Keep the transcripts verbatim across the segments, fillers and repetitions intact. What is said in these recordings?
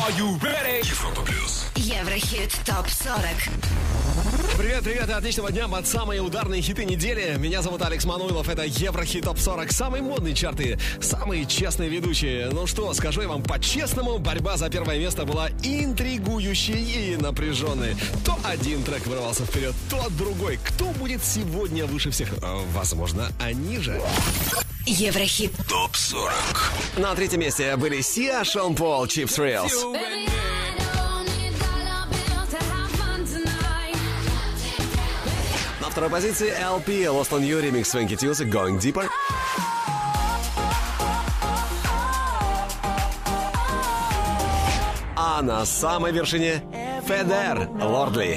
Are you ready? Европа плюс. Еврохит топ сорок. Привет, ребята, отличного дня под самые ударные хиты недели. Меня зовут Алекс Мануилов, это Еврохит топ сорок. Самые модные чарты, самые честные ведущие. Ну что, скажу я вам по-честному, борьба за первое место была интригующей и напряженной. То один трек вырвался вперед, то другой. Кто будет сегодня выше всех? Возможно, они же. Еврохит топ сорок. На третьем месте были Сиа, Шон Пол, Cheap Thrills. На второй позиции эл пи, Lost on You, ремикс Свенки Тьюса, Going Deeper. А на самой вершине Федер, Lordly.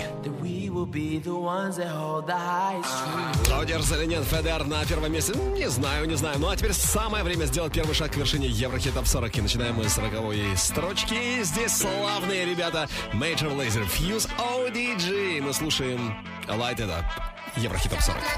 Удержится или нет Федер на первом месте? Не знаю, не знаю. Ну а теперь самое время сделать первый шаг к вершине Еврохит топ сорок. И начинаем мы с сороковой строчки. Здесь славные ребята Major Lazer, Fuse, о ди джи. Мы слушаем Light It Up. Еврохит топ сорок.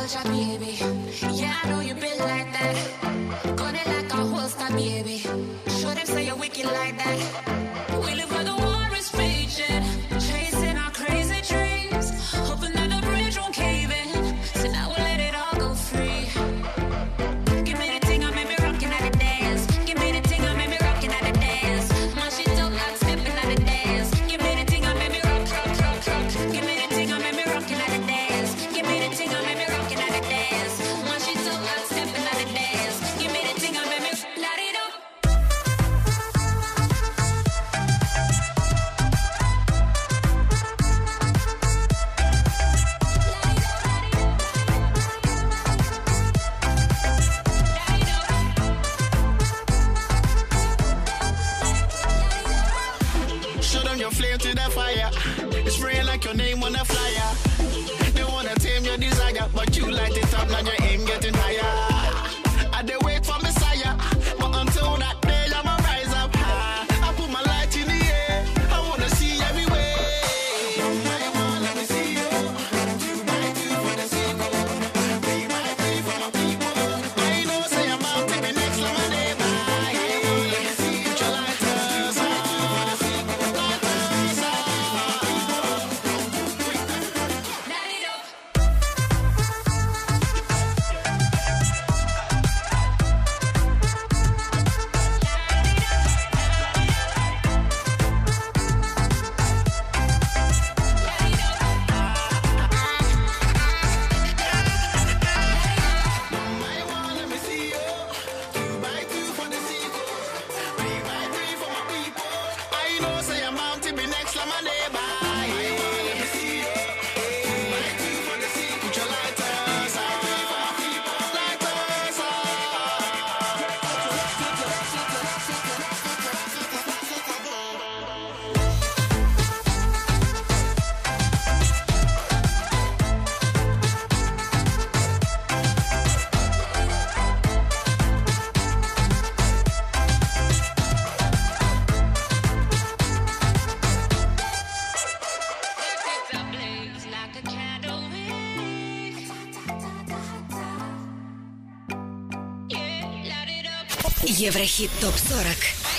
Еврохит топ сорок.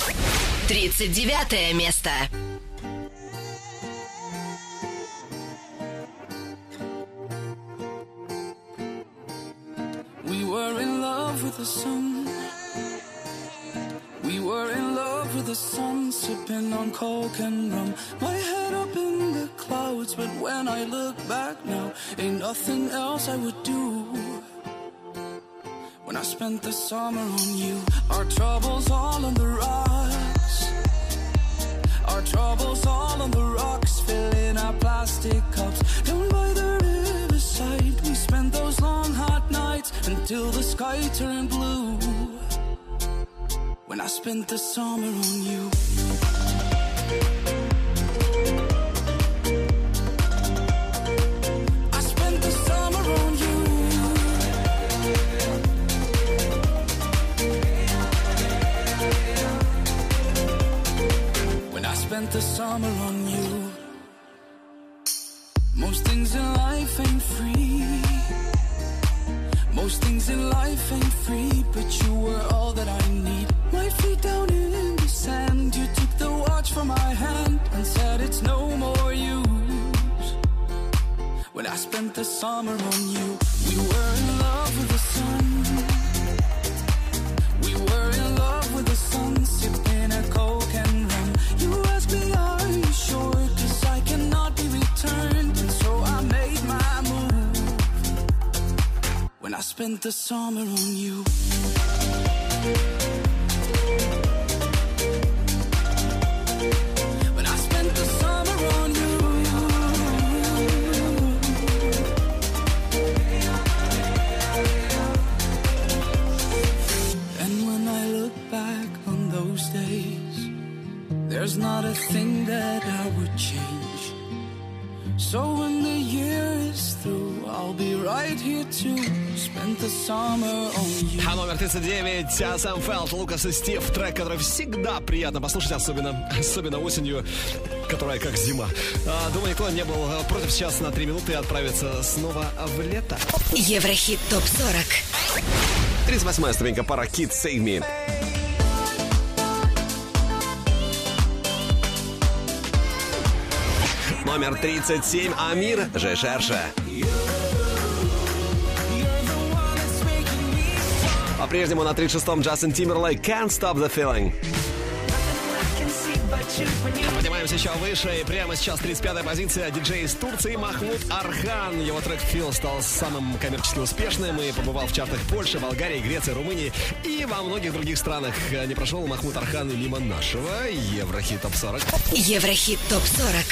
тридцать девятое место. We were in love with the sun. We were in love with the sun, sipping on coke and rum. My head up in the clouds, but when I look back now, ain't nothing else I would do. When I spent the summer on you, our troubles all on the rocks. Our troubles all on the rocks, filling our plastic cups. Down by the riverside, we spent those long hot nights until the sky turned blue. When I spent the summer on you. Spent the summer on you. Most things in life ain't free. Most things in life ain't free, but you were all that I need. My feet down in the sand, you took the watch reached for my hand and said it's no more use. When I spent the summer on you, we were in love with the sun. We were in love with the sun, sipping a Coke and rum. You asked me, are you sure? 'Cause I cannot be returned. And so I made my move when I spent the summer on you. When I spent the summer on you. And when I look back on those days, there's not a thing that I would change. So when the year is through, I'll be right here too. Spend the summer on you. А номер тридцать девять, Сэм Фелд, Лукас и Стив. Трек, который всегда приятно послушать, особенно, особенно осенью, которая как зима. А, думаю, никто не был против сейчас на три минуты отправиться снова в лето. Еврохит топ сорок. тридцать восьмая ступенька, пара Kids Save Me. Номер тридцать семь, Амир, Je cherche. По-прежнему на тридцать шестом Джастин Тимберлейк, Can't Stop the Feeling. Поднимаемся еще выше, и прямо сейчас тридцать пятая позиция, диджей из Турции Махмуд Архан. Его трек «Feel» стал самым коммерчески успешным и побывал в чартах Польши, Болгарии, Греции, Румынии и во многих других странах. Не прошел Махмуд Архан и мимо нашего Еврохит топ сорок. Еврохит топ сорок.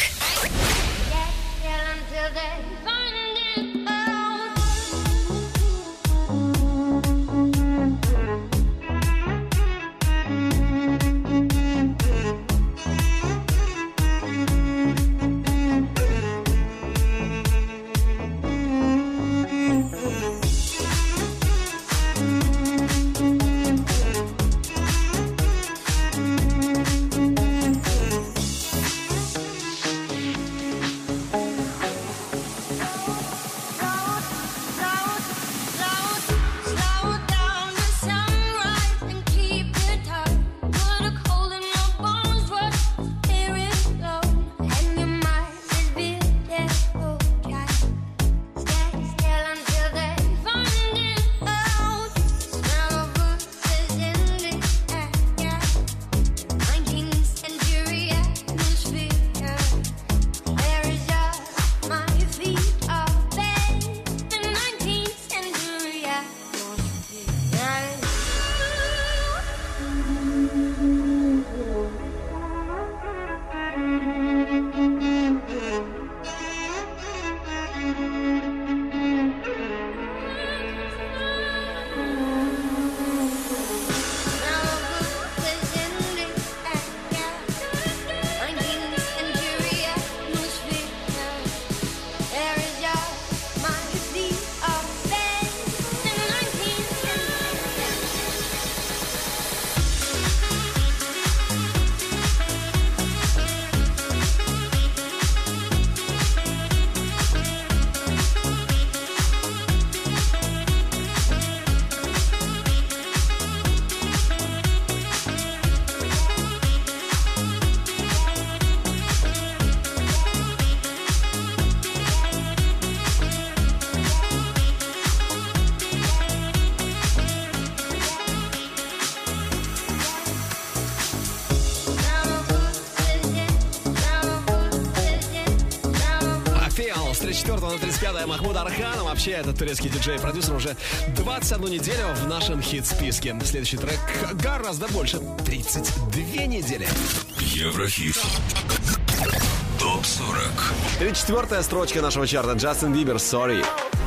четвёртого на тридцать пятое Махмуд Архан. Вообще, этот турецкий диджей-продюсер уже двадцать одну неделю в нашем хит-списке. Следующий трек гораздо больше. тридцать две недели. Еврохит. топ сорок. тридцать четвёртая строчка нашего чарта. Джастин Бибер, Sorry.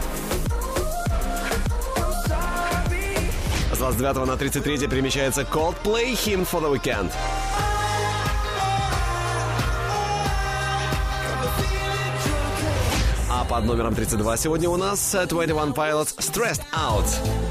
С двадцать девятого на тридцать третье перемещается Coldplay, Hymn for the Weekend. А под номером тридцать два сегодня у нас двадцать один Pilots Stressed Out.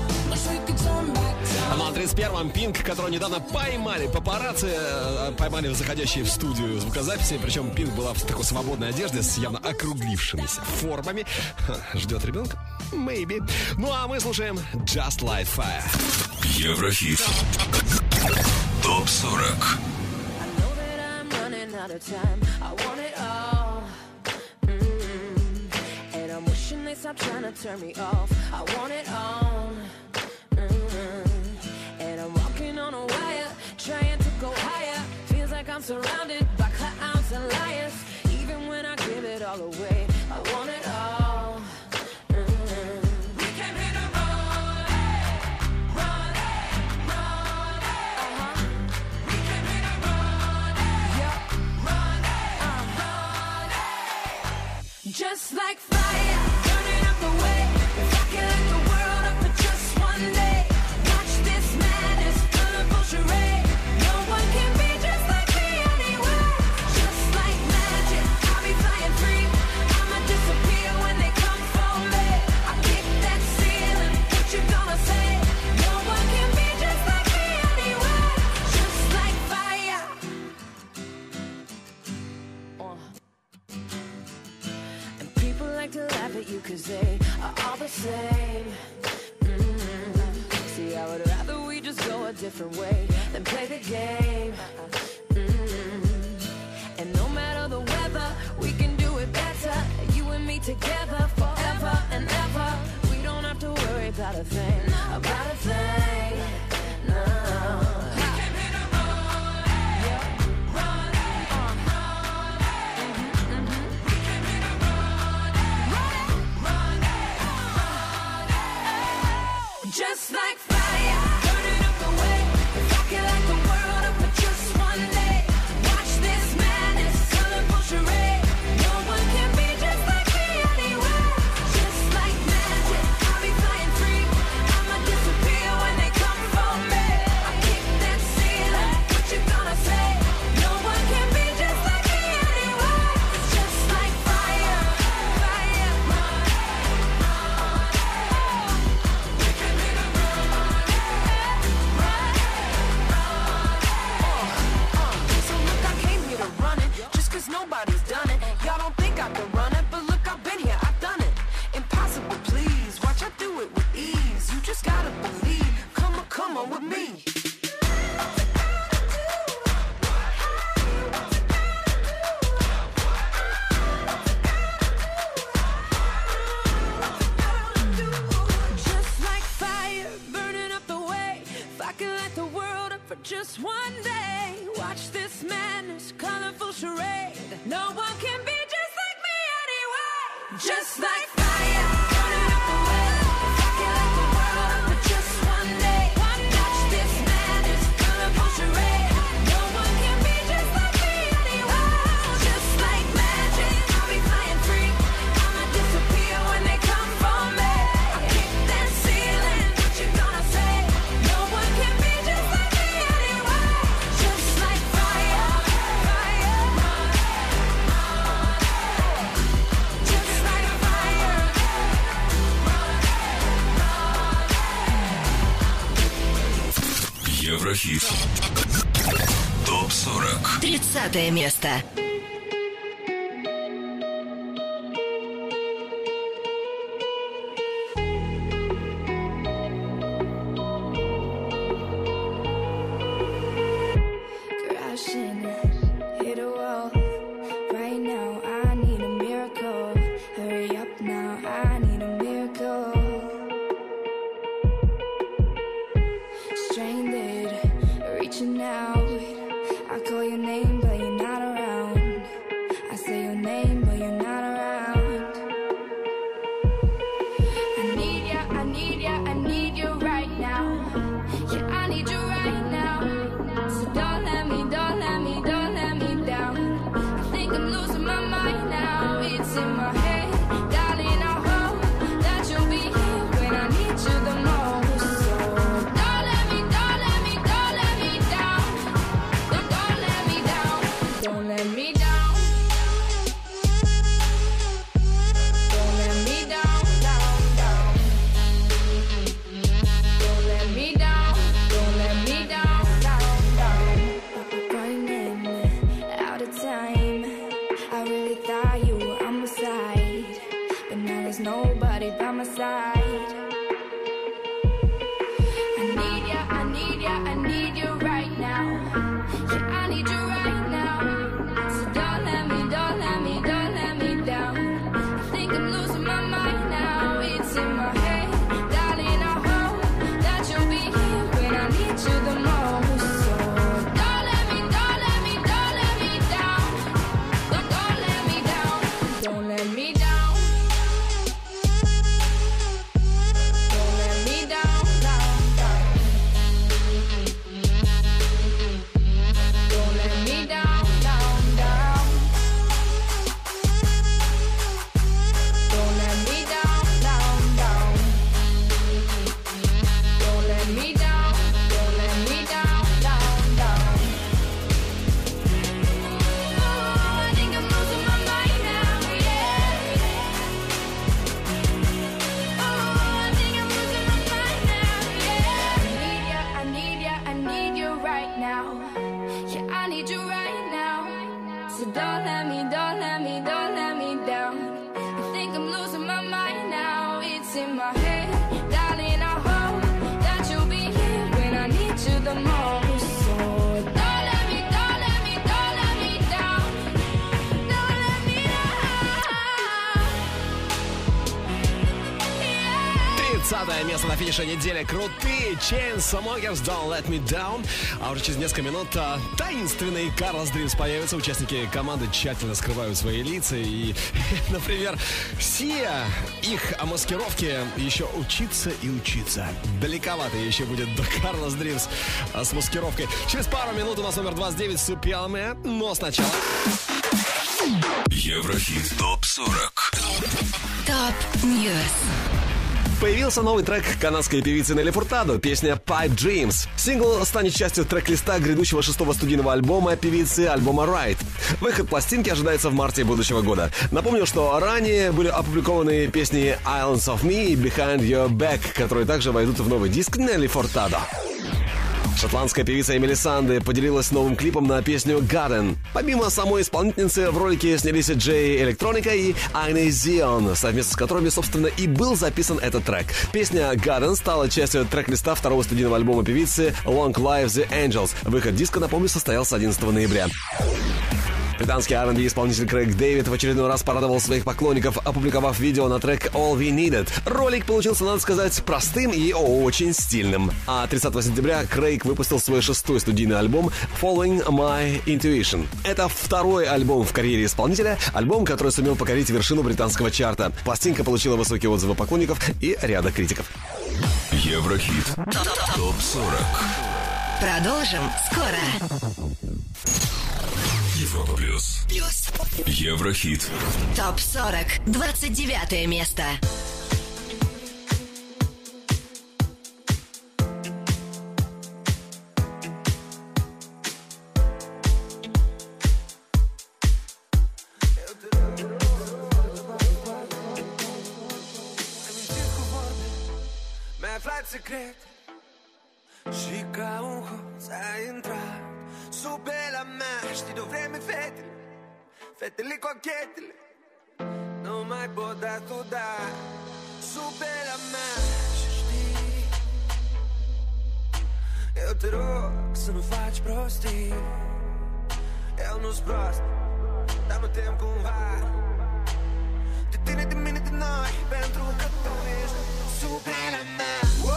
На тридцать первом Пинк, которого недавно поймали папарацци, поймали заходящие в студию звукозаписи. Причем Пинк была в такой свободной одежде с явно округлившимися формами. Ждет ребенка? Maybe. Ну а мы слушаем Just Light Fire. Еврохит. топ сорок. out of time. I want it all. Mm-hmm. And I'm wishing they stop trying to turn me off. I want it all. Mm-hmm. And I'm walking on a wire, trying to go higher. Feels like I'm surrounded by clowns and liars. Even when I give it all away, I want it all. Mm-hmm. We came here to run, run, run. Uh-huh. We came here to run, yeah, run, uh-huh. Just like fire, burning up the way. If I can light the world up for just one day, watch this madness, colorful charade. No one can be just like me anyway. Just like magic, I'll be flying free. I'ma disappear when they come for me. I kick that ceiling, what you gonna say? No one can be just like me anyway. Just like fire. Uh. And people like to laugh at you cause they are all the same. Mm-hmm. See, I would rather we just go a different way than play the game. Mm-hmm. And no matter the weather, we can do it better. You and me together forever and ever. We don't have to worry about a thing, about a thing. No. We came here to run, yeah, run, uh, mm-hmm, mm-hmm. We came here to run, run, run. Just like fire, burning up the way. If I can light the world up for just one day, watch this madness, colorful charade. No one can be just like me anyway. Just like magic, I'll be flying free. I'ma disappear when they come for me. I kick that ceiling, what you gonna say? No one can be just like me anyway. It's just like fire, fire, run, run. We came here to run, run, run. So look, I came here to run it, just cause nobody's done it. Y'all don't think I can run it, but look, I've been here, I've done it. Impossible, please, watch I do it with ease. You just gotta believe, come on, come on with me. Just like fire, burning up the way. If I can light the world up for just one day, watch this madness, colorful charade. No one can be just like me anyway. Just like fire, burning up the way. If I can light the world up for just one day, watch this madness, colorful charade. No one can be just like me anyway. Just like magic, I'll be flying free. I'ma disappear when they come for me. I kick that ceiling, what you gonna say? No one can be just like me anyway. Just like fire, fire, run, run. Just like fire, run, run. Еврохит. топ сорок. Тридцатое место. Crashing, hit a wall. Right now, I need a miracle. Hurry up now, I need a miracle. Stranded, reaching out. I call your name, but you're not around. I say your name, but you're not around. I need ya, I need ya, I need you right now. Yeah, I need you right now. So don't let me, don't let me, don't let me down. So don't let me, don't let me, don't let me down. I think I'm losing my mind now. It's in my head, darling. I hope that you'll be here when I need you the most. So don't let me, don't let me, don't let me down. Don't let me down. тридцатое место на финише недели. Крутые Chainsmokers, Don't Let Me Down. А уже через несколько минут а, таинственный Карлос Дримс появится. Участники команды тщательно скрывают свои лица. И, например, все их о маскировке еще учиться и учиться. Далековато еще будет до Карлос Дримс с маскировкой. Через пару минут у нас номер двадцать девять Супиалме. Но сначала... Еврохит топ сорок. Топ Ньюс. Появился новый трек канадской певицы Нелли Фуртадо, песня Pipe Dreams. Сингл станет частью трек-листа грядущего шестого студийного альбома певицы, альбома Ride. Выход пластинки ожидается в марте будущего года. Напомню, что ранее были опубликованы песни Islands of Me и Behind Your Back, которые также войдут в новый диск Нелли Фуртадо. Шотландская певица Эмили Санде поделилась новым клипом на песню Garden. Помимо самой исполнительницы в ролике снялись Джей Электроника и Айне Зион, совместно с которыми, собственно, и был записан этот трек. Песня Garden стала частью трек-листа второго студийного альбома певицы Long Live the Angels. Выход диска, напомню, состоялся одиннадцатого ноября. Британский ар энд би-исполнитель Крейг Дэвид в очередной раз порадовал своих поклонников, опубликовав видео на трек All We Needed. Ролик получился, надо сказать, простым и очень стильным. А тридцатого сентября Крейг выпустил свой шестой студийный альбом Following My Intuition. Это второй альбом в карьере исполнителя, альбом, который сумел покорить вершину британского чарта. Пластинка получила высокие отзывы поклонников и ряда критиков. Еврохит топ сорок. Продолжим скоро. Европа плюс. Плюс. Еврохит. Топ сорок. двадцать девятое место. Secret și ca un hoț ai intrat sub pe la mea. Știi de-o vreme fetele, fetele cochetele nu mai pot da tu da sub pe la mea. Și știi, eu te rog să nu faci prostii. Eu nu-s prost, dar mă tem cumva de tine, de mine, de noi, pentru că tu ești sub pe la mea.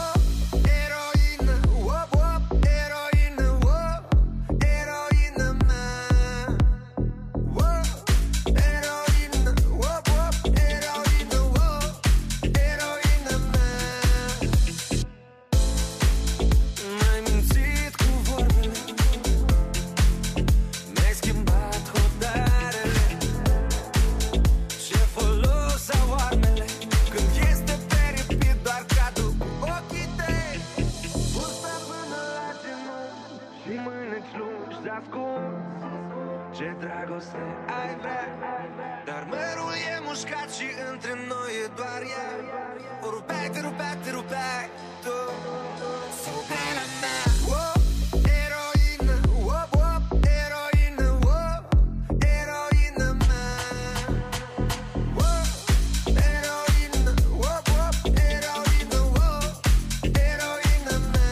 Ce dragoste ai vrea, dar mărul e mușcat și între noi e doar ea. O rupeai, te rupeai, te rupeai tu sub pe la mea. Oh, eroină, oh, oh, eroină, oh, eroină mea. Oh, eroină, oh, oh, eroină, oh, eroină mea.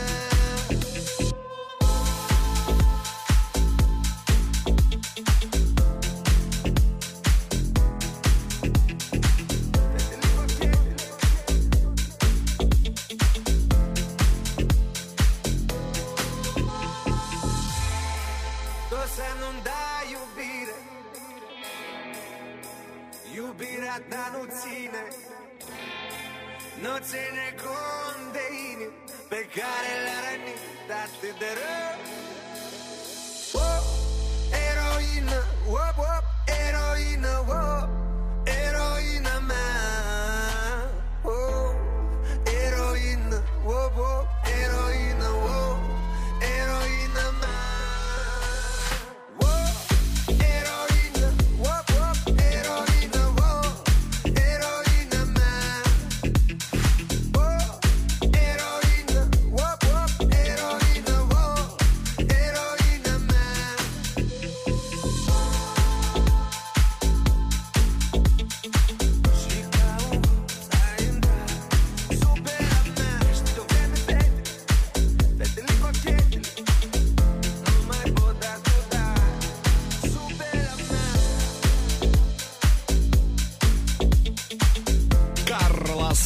Iubirea ta nu ține, nu ține cont de inimi pe care le-a rănit atât de rău. Oh, eroină, oh, oh, eroină, oh, eroină mea. Oh, eroină, oh, oh, eroină, oh, eroină mea.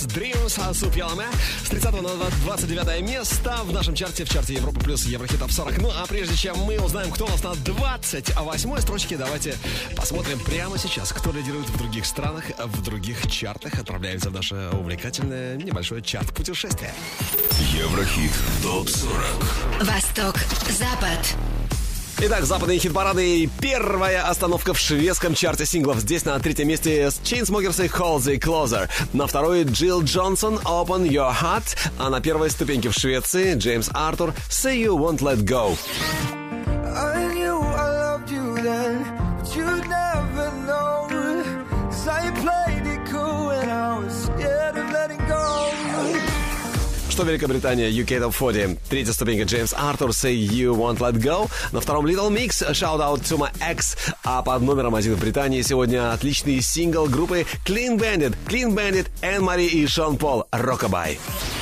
Dreams, Суп Яламе. С тридцатого на двадцать девятое место в нашем чарте, в чарте Европа плюс Еврохит Топ сорок. Ну а прежде чем мы узнаем, кто у нас на двадцать восьмой строчке, давайте посмотрим прямо сейчас, кто лидирует в других странах, в других чартах. Отправляемся в наше увлекательное небольшое чарт-путешествие. Еврохит Топ сорок. Восток, Запад. Итак, западные хит-парады и первая остановка в шведском чарте синглов. Здесь на третьем месте Chainsmokers и Halsey Closer. На второй Джилл Джонсон Open Your Heart. А на первой ступеньке в Швеции Джеймс Артур Say You Won't Let Go. I knew I loved you then, but you'd never know, 'cause I played it cool and I was scared of letting go. Что Великобритания, ю кей Top сорок. Третья ступенька Джеймс Артур Say You Won't Let Go. На втором Little Mix Shout Out to My Ex. А под номером один в Британии сегодня отличный сингл группы Clean Bandit. Clean Bandit, Энн Мари и Шон Пол. Rockabye.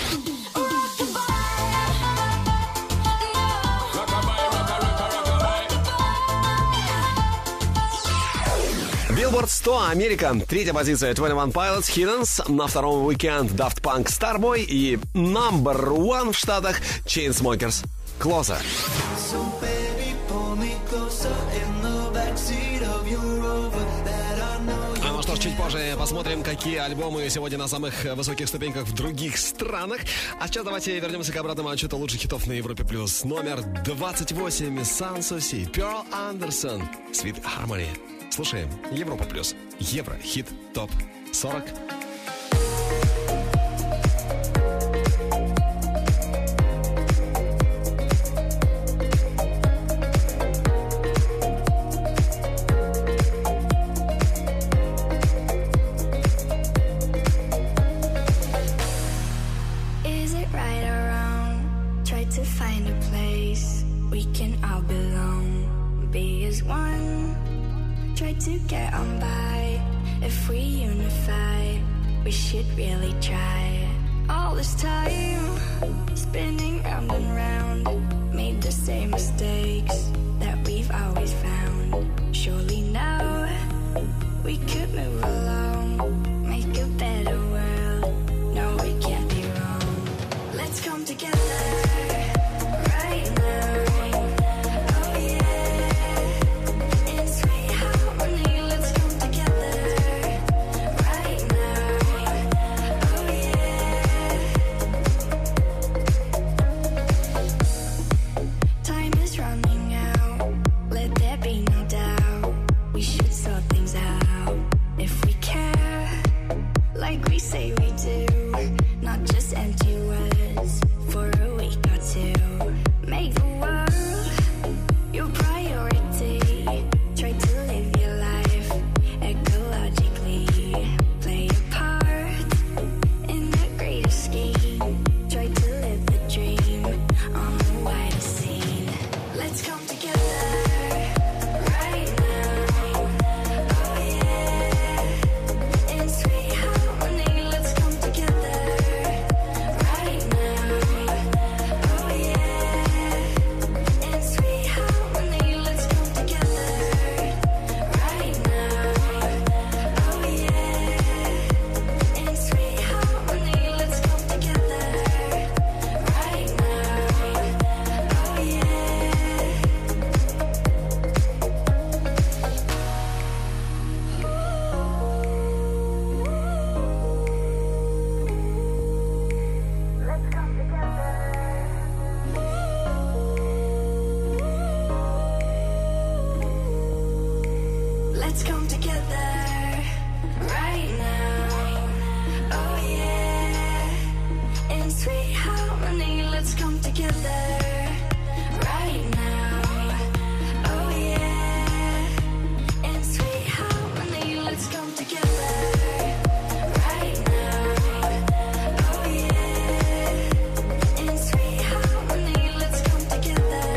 Billboard сто, Америка. Третья позиция двадцать один Pilots, Hiddens. На втором Weekend Daft Punk, Starboy. И number one в Штатах Chainsmokers, Closer. So baby, pull me closer in the backseat of your Rover that I know you. А ну что ж, чуть позже посмотрим, какие альбомы сегодня на самых высоких ступеньках в других странах. А сейчас давайте вернемся к обратному отчету лучших хитов на Европе+. плюс. Номер двадцать восемь Sanssouci, Pearl Anderson, Sweet Harmony. Слушаем Европа плюс. Еврохит Топ сорок. Is it right or wrong? Try to find a place we can all belong. Be as one. Try to get on by. If we unify, we should really try. All this time, spinning round and round, made the same mistakes that we've always found. Surely now, we could move along, make a better world. No, we can't be wrong. Let's come together right now.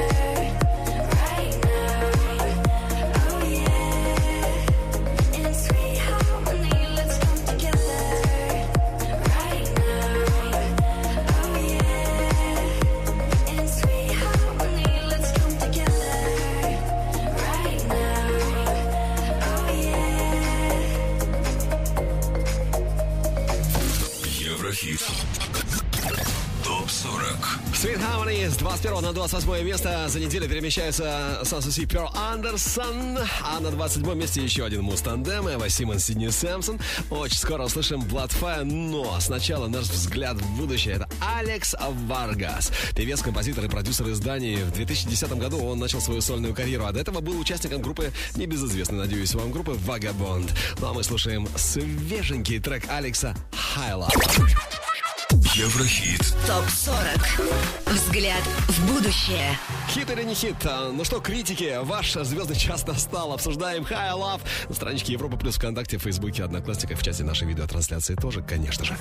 It's Еврохит. Топ сорок. Sweet Harmony с двадцать первого на двадцать восьмое место. За неделю перемещается Санс и Пёрл Андерсон. А на двадцать седьмом месте еще один муз-тандем. Эва Симмонс, Сидни Сэмпсон. Очень скоро услышим Bloodfire. Но сначала наш взгляд в будущее. Это Алекс Варгас. Певец, композитор и продюсер изданий. В две тысячи десятом году он начал свою сольную карьеру. А до этого был участником группы, небезызвестной, надеюсь, вам, группы Vagabond. Ну а мы слушаем свеженький трек Алекса High Love. Еврохит. Топ сорок. Взгляд в будущее. Хит или не хит? Ну что, критики, ваш звездный час настал. Обсуждаем High Love на страничке Европа Плюс ВКонтакте, в Фейсбуке, Одноклассниках, в чате нашей видеотрансляции тоже, конечно же.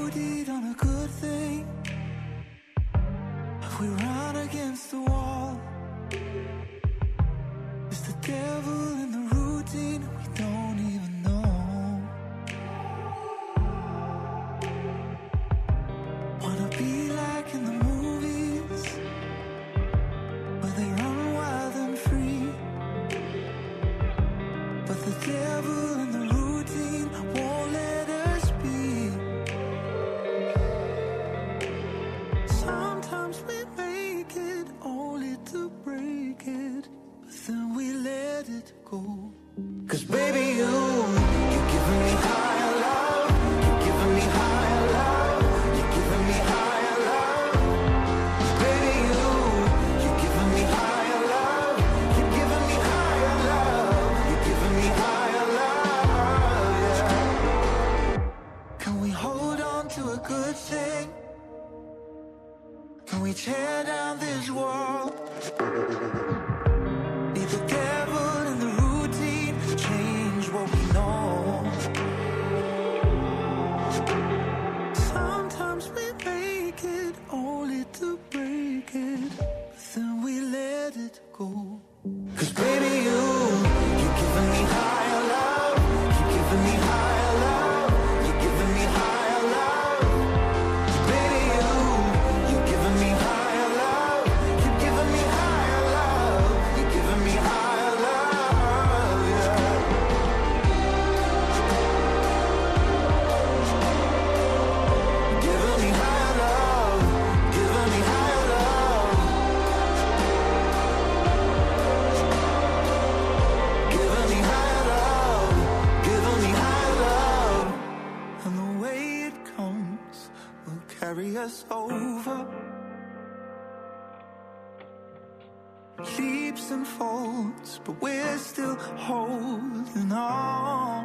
Wanna be like in the movies, where they run wild and free. But the devil in the routine won't let us be. Sometimes we make it only to break it, but then we let it go. 'Cause baby, you, you're giving me higher love, you're giving me higher love. Good thing. Can we tear down this wall? Be the devil in the routine, change what we know. Sometimes we make it only to break it, but then we let it go. 'Cause baby, you, you're giving me higher love, you're giving me higher love, you're giving me higher love. Carry us over, leaps and folds, but we're still holding on.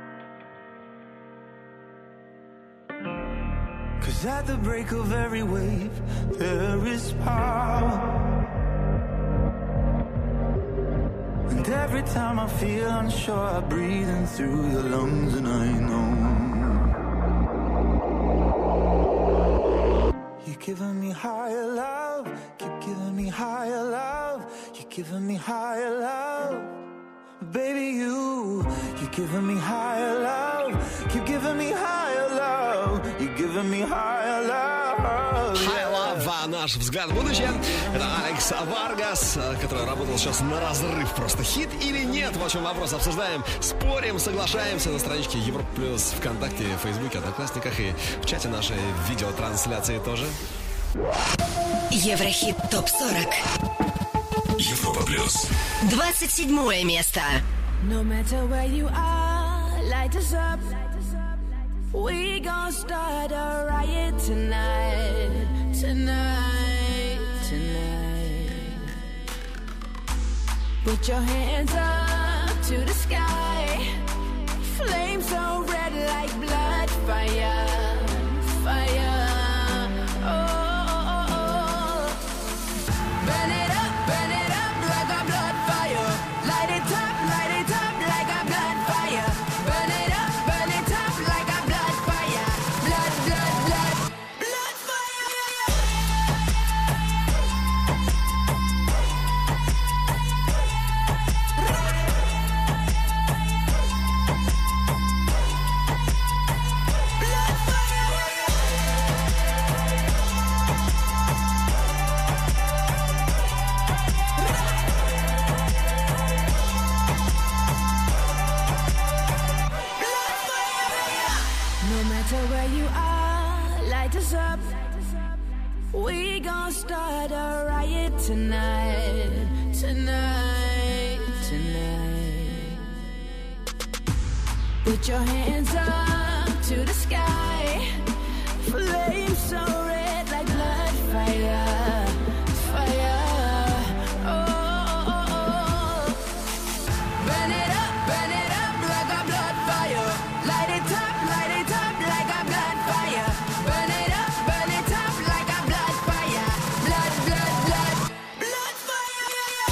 'Cause at the break of every wave, there is power. And every time I feel unsure, I breathe in through your lungs, and I know you're giving me higher love, keep giving me higher love, you're giving me higher love. Baby, you, you're giving me higher love, keep giving me higher love, you're giving me higher love. High Love, а наш взгляд в будущее. Это Алекс Варгас, который работал сейчас на разрыв. Просто хит или нет? В общем, вопрос обсуждаем, спорим, соглашаемся на страничке Европа Плюс ВКонтакте, в Фейсбуке, Одноклассниках и в чате нашей видеотрансляции тоже. Еврохит топ сорок. Европа Плюс. двадцать седьмое место. No matter where you are, light us up. We gon' start a riot tonight, tonight, tonight. Put your hands up to the sky. Flames so red like blood, fire, fire. Oh, oh, oh. Burn it up, burn it up like a blood fire. Light it up, light it up like a blood fire. Burn it up, burn it up like a blood fire. Blood, blood, blood, blood fire. start a riot tonight, tonight, tonight. Put your hands up to the sky, flame so red like blood fire, fire. Oh, oh, oh, oh. Burn it up, burn it up like a blood fire. Light it up, light it up like a blood fire. Burn it up, burn it up like a blood fire. Blood, blood, blood, blood fire.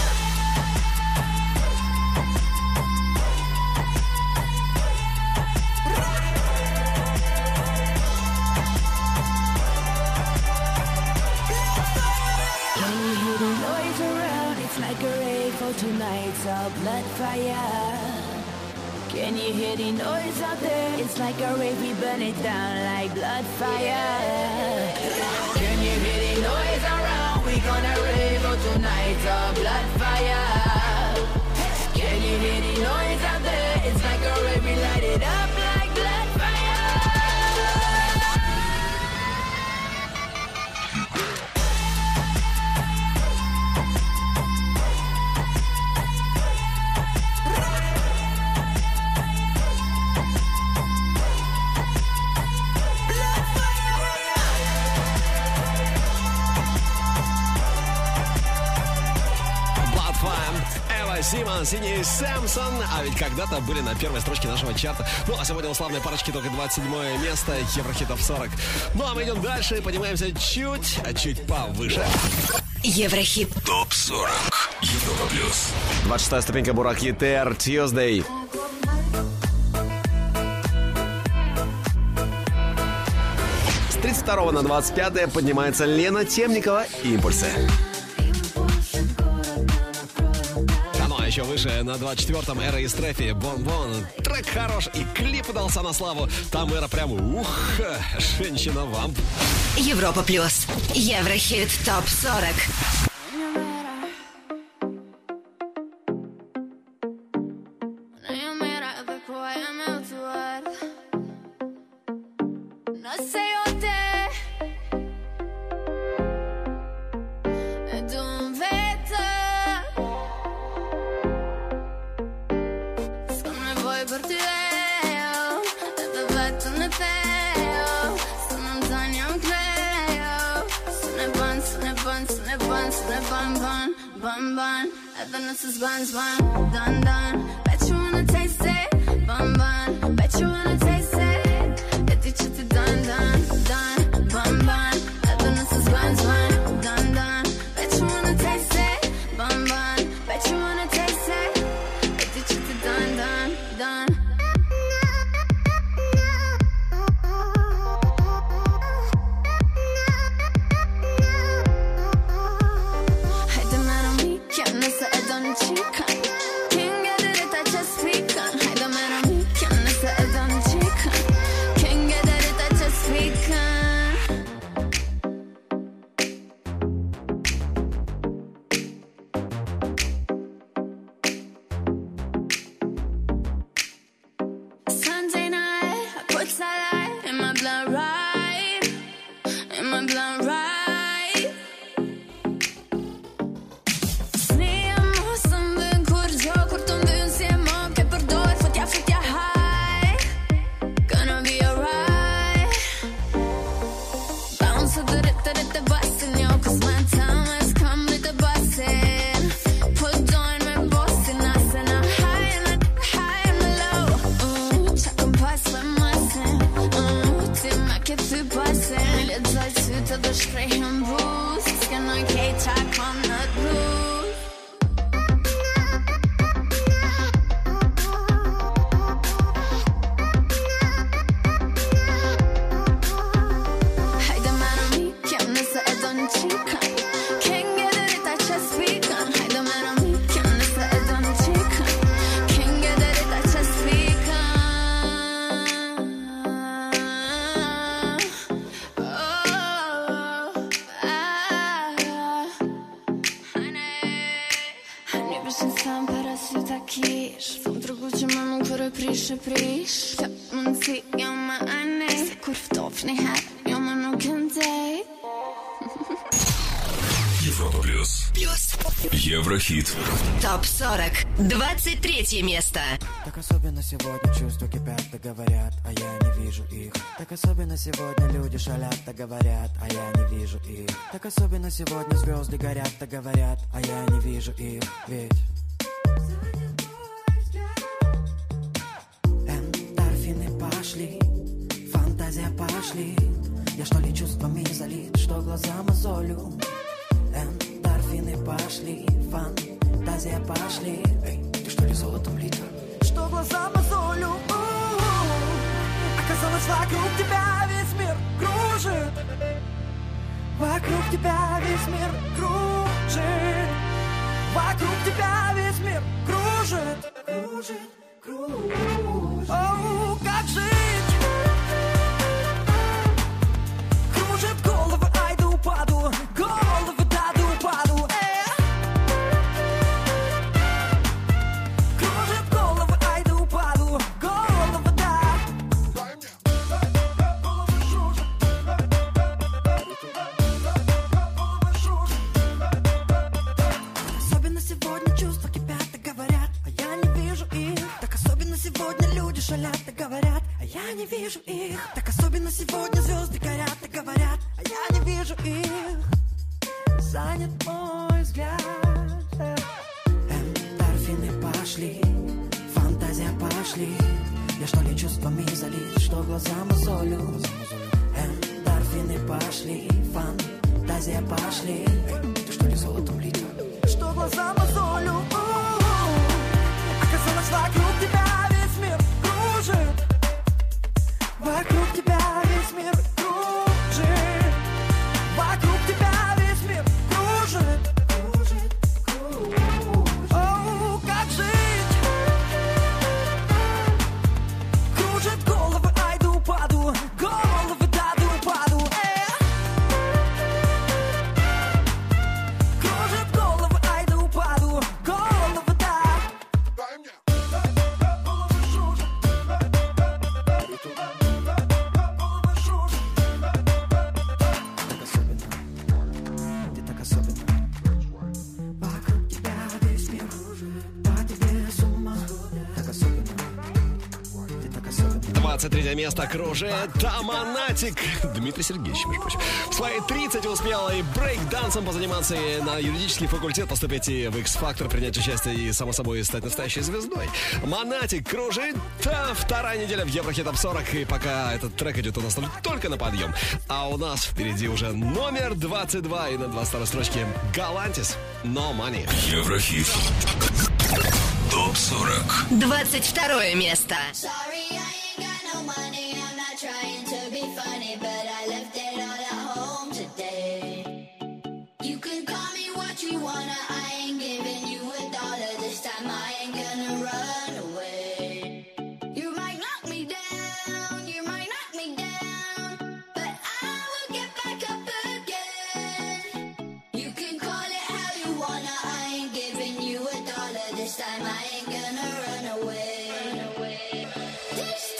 When you hear the noise around, it's like a rave for tonight's a blood fire. Can you hear the noise out there? It's like a rave, we burn it down like blood fire. Can you hear the noise around? We gonna rave for tonight's a blood fire. Can you hear the noise out there? It's like a rave, we light it up like blood fire. Симмонс и Нью Сэмпсон. А ведь когда-то были на первой строчке нашего чарта. Ну, а сегодня у славной парочки только двадцать седьмое место Еврохит Топ сорок. Ну, а мы идем дальше и поднимаемся чуть, а чуть повыше. Еврохит Топ сорок. Европа плюс. двадцать шестая ступенька Бурак Етер, Tuesday. С тридцать второго на двадцать пятое поднимается Лена Темникова, Импульсы. Еще выше на двадцать четвертом Эра и Стрефи, Бон-Бон. Трек хорош и клип удался на славу. Там Эра прям ух, женщина-вамп. Европа плюс. Еврохит Топ сорок. Buns, bun, done, done. Bet you wanna taste it, bun, bun. Bet you wanna taste it. Get the chitty done, done, done, bun, bun. Bet the nuts is buns, bun, done, done. Bet you wanna taste it, bun, bun. Bet you wanna taste it. Get the chitty done, done, done. Hey, the man on me, can't miss it. Chicken. Can't get it if I just speak on. Hey, the man on me, can't miss it. It's on the chicken. Can't get it if I just speak on. Sunday night, I put sunlight in my blood right, in my blood right. Prish, prish, ja, man ser ja, man är nej. Kurv, dofni här, ja, man nog kan dig. Европа плюс. Плюс. Еврохит. Топ сорок. двадцать третье место. Так особенно сегодня чувства кипят, да говорят, а я не вижу их. Так особенно сегодня люди шалят, да говорят, а я не вижу их. Так особенно сегодня звезды горят, да говорят, а я не вижу их. Ведь эндорфины пошли, фантазия пошли. Я что ли чувствами залит, что глаза мозолю. Эндорфины пошли, фантазия пошли. Эй, ты что ли золотом лита? Что глаза мозолю. Оказалось, вокруг тебя весь мир кружит. Вокруг тебя весь мир кружит. Вокруг тебя весь мир кружит. Кружит, кружит. Оу, как жить? Кружит головы, ай да упаду. Головы, да да упаду. Кружит головы, ай да упаду. Головы, да. Особенно сегодня чувства кипят и говорят, а я не вижу их. Так особенно сегодня люди шалят и говорят, а я не вижу их. Так особенно сегодня звезды горят и говорят, а я не вижу их. Занят мой взгляд. Эндорфины пошли, фантазия пошли. Я что ли чувствами залит, что глаза мозолю. Эндорфины пошли, фантазия пошли. Эй, ты что ли золотом лита? Что глаза мозолю. Оказалось, вокруг тебя весь мир кружит. Вокруг тебя весь мир кружит. Вокруг тебя весь мир кружит. Кружит, кружит. Оу, как жить? Кружит головы, ай да упаду. Головы, да да упаду. Кружит головы, ай да упаду. Головы, да. Ты так особенно. Вокруг тебя весь мир по тебе с ума. Так особенно. Ты так особенно. двадцать третье место кружит Таманатик. Дмитрий Сергеевич, между прочим. В свои тридцать успел и брейк-дансом позаниматься, и на юридический факультет поступить, и в X-Factor принять участие, и, само собой, стать настоящей звездой. Монатик кружит. А, вторая неделя в Еврохит Топ сорок, и пока этот трек идет у нас только на подъем. А у нас впереди уже номер двадцать два, и на двадцать второй строчке Галантис No Money. Еврохит. Топ сорок. двадцать второе место. Sorry, I ain't got no money. I'm not trying to be funny, but I left it all at home today. You can call me what you wanna. I ain't giving you a dollar this time. I ain't gonna run away. You might knock me down, you might knock me down, but I will get back up again. You can call it how you wanna. I ain't giving you a dollar this time. I ain't gonna run away. Run away. This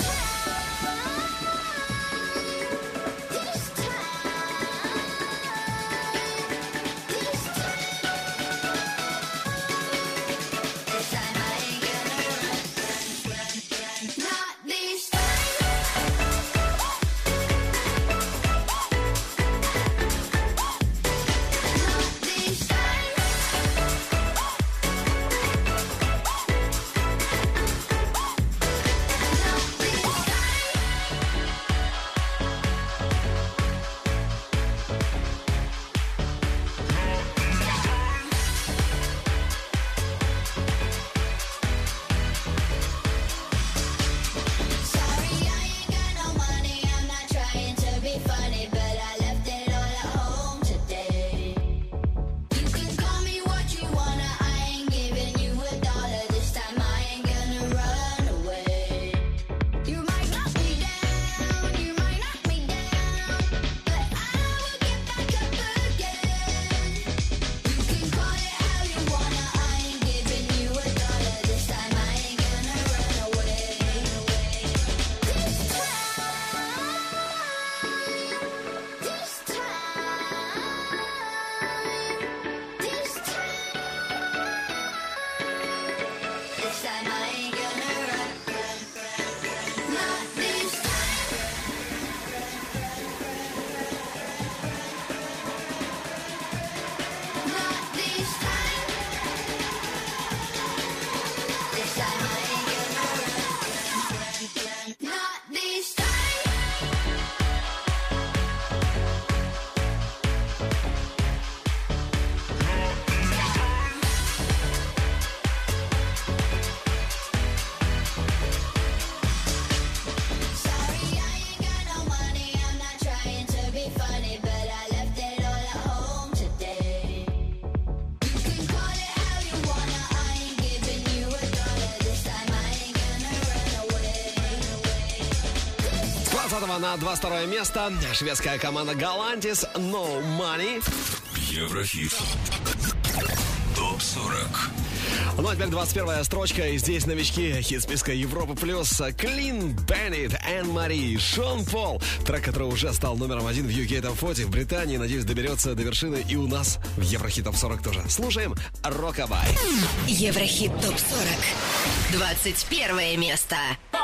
двадцатого на двадцать второе место шведская команда Galantis No Money. Еврохит. топ сорок. Ну а теперь двадцать первая строчка. И здесь новички хит-списка Европы плюс. Clean Bandit, Anne Marie, Шон Пол. Трек, который уже стал номером один в ю кей Top сорок в Британии. Надеюсь, доберется до вершины и у нас в Еврохит Топ сорок тоже. Слушаем Rockabye. Еврохит Топ сорок. двадцать первое место.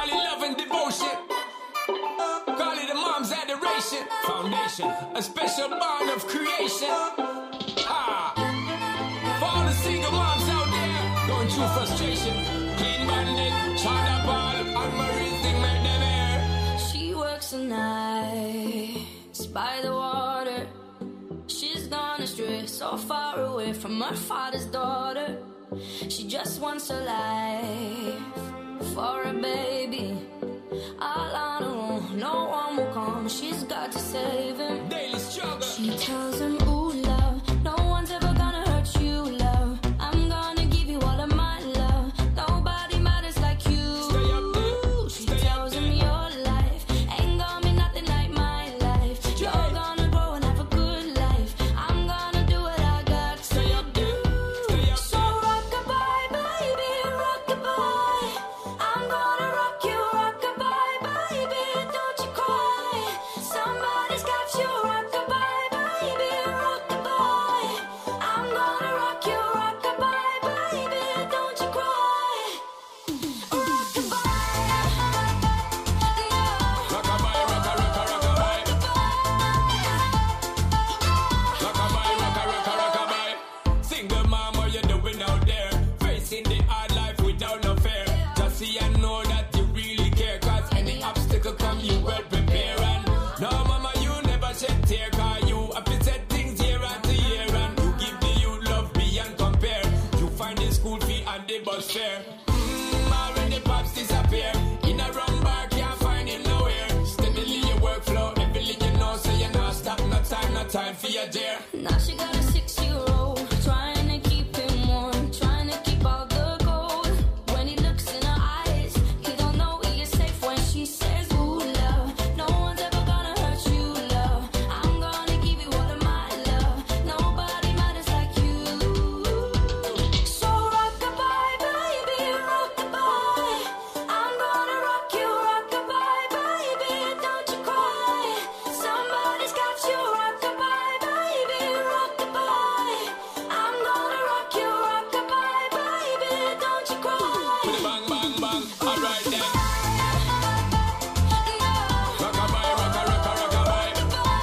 Foundation, a special bond of creation. Ah, for all the single moms out there going through frustration. Clean Bandit, China Ball, and Marie thing make them air. She works the nights by the water. She's gone astray, so far away from her father's daughter. She just wants a life for a baby. All on her own, no one will come. She's got to save him. Daily struggle. She tells him, ooh, love, no one's ever gonna hurt you, love. I'm gonna give you all of my love. Nobody matters like you. Stay up there. She Stay tells up him there. your life ain't gonna be nothing like my life. You're gonna grow and have a good life. I'm gonna do what I got to Stay up there. Stay up So rock-a-bye, baby, rock-a-bye. I'm gonna rock you, rock-a-bye, baby, don't you cry. Somebody's got you, rock-a-bye, baby, rock-a-bye. I'm gonna rock you, rock-a-bye, baby, don't you cry. Rock-a-bye, Rockabye, rocka, rocka, rockabye. Rockabye, rocka, rocka, rockabye. Single mom, what you doing out there? Facing the hard life without no fear. Just see and know that you really care. Cause any obstacle come, you well prepare. And no, mama, you never shed tear. Cause you have to set things year after year. And you give the youth love beyond compare. You find the school fee and the bus fare. Mmm, already pops disappear. In a run bar, can't find him nowhere. Steadily your workflow, everything you know, so you not stop, no time, no time for your dear. now she got a six-year-old, trying to keep him warm, trying to keep out the cold. When he looks in her eyes, he don't know he is safe when she says, ooh, love, no one's ever gonna hurt you, love. I'm gonna give you all of my love. Nobody matters like you. So rock-a-bye, baby, rock-a-bye. I'm gonna rock you, rock-a-bye, baby, don't you cry. Somebody's got you, rock-a-bye, baby, rock-a-bye. I'm gonna rock you, rock-a-bye, baby, don't you cry. Bang, bang, bang, alright then. Rockabye, rocka, rocka, rockabye.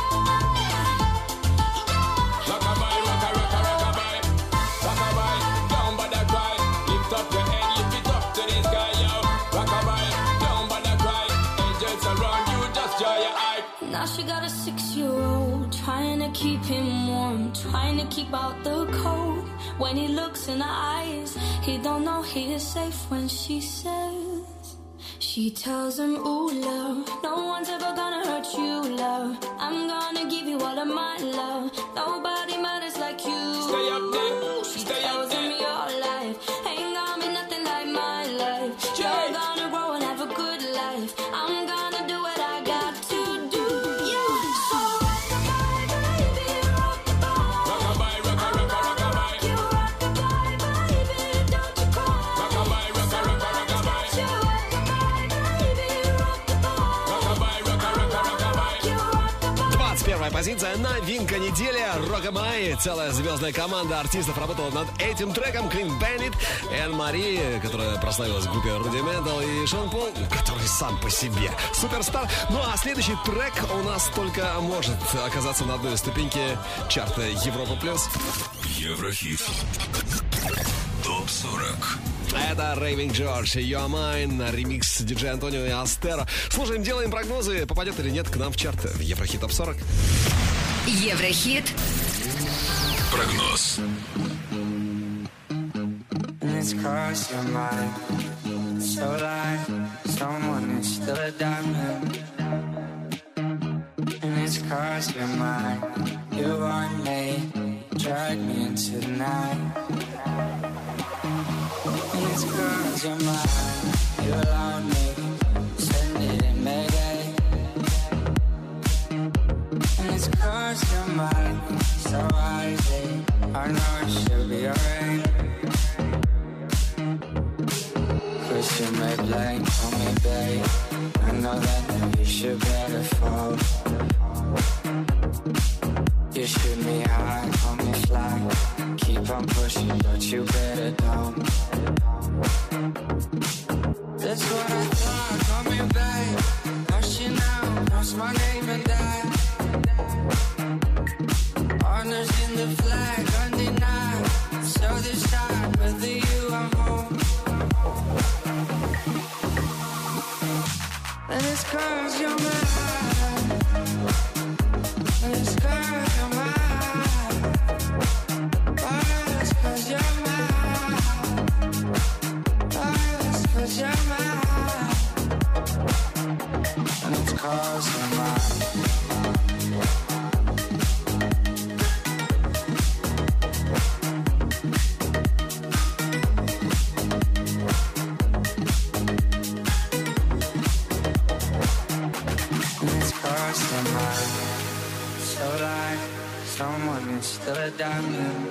Rockabye, rocka, rocka, rockabye. Rockabye, down by the cry. Lift up your head, lift it up to the sky, yo. Rockabye, down by the cry. Angels around you, just dry your eye. Now she got a six-year-old, trying to keep him warm, trying to keep out the cold. When he looks in her eyes, he don't know he is safe when she says. She tells him, ooh, love, no one's ever gonna hurt you, love. I'm gonna give you all of my love. Nobody matters like you. Stay up there, She stay up tells him there. your life ain't gonna be nothing like my life. You're gonna grow and have a good life. I'm gonna do what I got to do. So rock-a-bye, baby, rock-a-bye. Rockabye, rocka, rocka, rockabye. You rock-a-bye, baby, don't you cry. Rockabye, rocka, rocka, rockabye. You rock-a-bye, baby, rock-a-bye. Rockabye, rocka, rocka, rockabye. You rock-a-bye. двадцать первая позиция, новинка недели. Rockabye. Целая звездная команда артистов работала над этим треком. Clean Bandit, Энн Мари, которая прославилась в группе Rudimental, и Шон Пол, который сам по себе суперстар. Ну а следующий трек у нас только может оказаться на одной ступеньке чарта Европа плюс. Еврохит. топ сорок. Это Raving George, You're Mine, ремикс диджея Антонио и Астеро. Слушаем, делаем прогнозы, попадет или нет к нам в чарт в Еврохит Топ сорок. Еврохит. Прогноз. And it's crossed your mind. So like someone is still a diamond. And it's crossed your mind. You want me, drag me into the night. And it's crossed your mind. You allowed me, send it in Mayday. 'cause you're mine, so wisely. I know it should be alright. 'Cause you may blame, call me babe. I know that you should better fall. You shoot me high, call me fly. Keep on pushing, but you better don't. That's what I thought, call me babe. Hush you now, cross my name and die. Honors in the flag, undenied. So this time, with you I'm home. And it's 'cause you're mine. And it's 'cause you're mine. Oh, it's 'cause you're mine. Oh, it's 'cause you're mine. And it's 'cause you're mine. So like someone is still a diamond.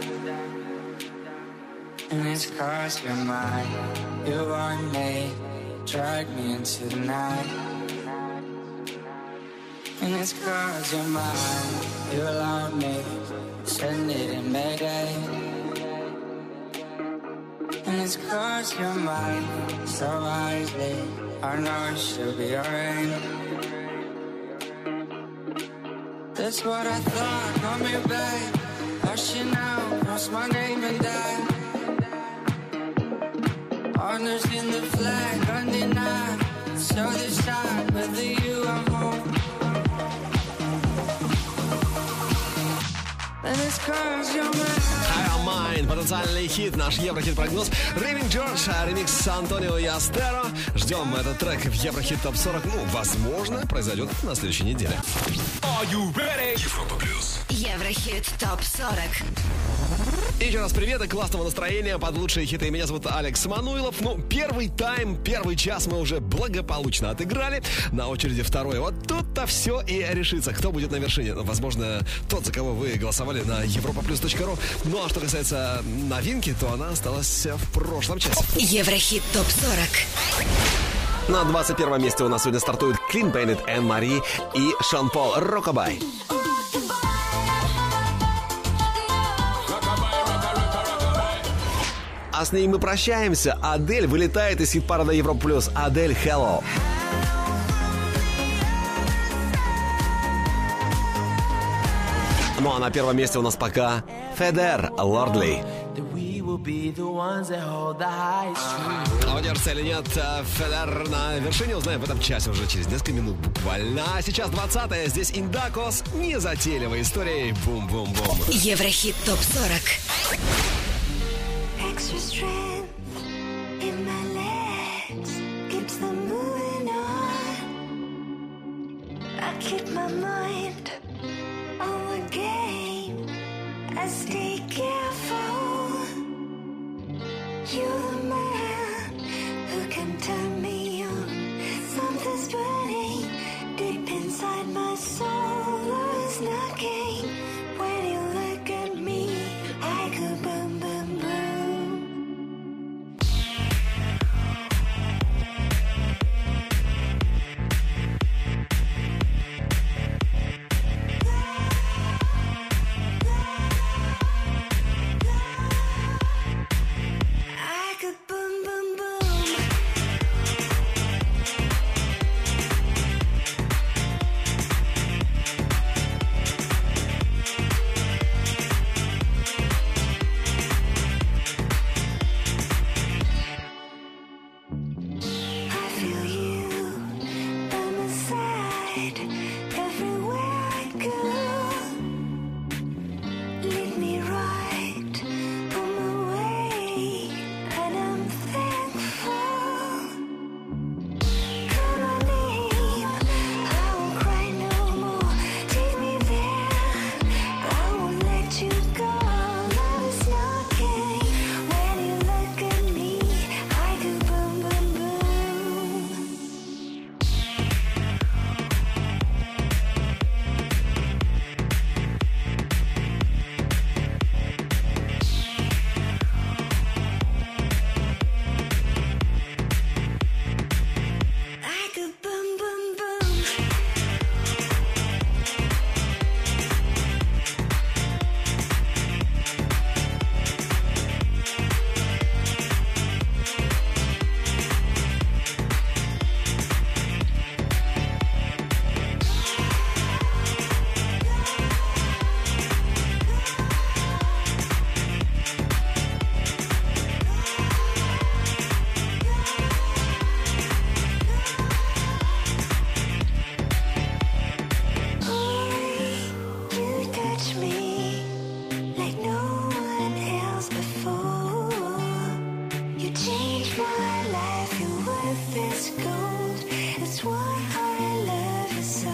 And it's 'cause you're mine. You want me, drag me into the night. And it's 'cause you're mine. You allowed me, send it in Mayday. And it's 'cause you're mine, so wisely. I know it should be alright. That's what I thought, call me babe. Hush you now, cross my name and die. Honors in the flag, undenied. So this time, with you I'm home. And it's 'cause you're mine. Higher Mind, потенциальный хит, наш Еврохит-прогноз. Рэйвин Джордж, ремикс с Антонио и Астеро. Ждем этот трек в Еврохит топ сорок. Ну, возможно, произойдет на следующей неделе. Are you ready? Европа плюс. Еврохит топ сорок. И еще раз привет и классного настроения под лучшие хиты. Меня зовут Алекс Мануилов. Ну, первый тайм, первый час мы уже благополучно отыграли. На очереди второй. Вот тут-то все и решится, кто будет на вершине. Возможно, тот, за кого вы голосовали на европа плюс точка ру. Ну, а что касается новинки, то она осталась в прошлом часе. Еврохит топ сорок. На двадцать первом месте у нас сегодня стартуют Clean Bandit, Энн Мари и Шон Пол «Rockabye». А с ней мы прощаемся. Адель вылетает из хит-парада Европа плюс. Адель «Hello». Ну а на первом месте у нас пока Федер «Lordly». А удержится или нет Федер на вершине, узнаем в этом часе уже через несколько минут буквально. А сейчас двадцатое. Здесь Индакос. Незатейливой историей. Бум-бум-бум. Еврохит топ сорок. Extra strength in my legs keeps them moving on. I keep my mind on the game. I stay careful. You're the man who can turn me on. Something's burning deep inside my soul. Is knocking when you look at me. I go boom, boom, boom. it's gold. It's why I love you so.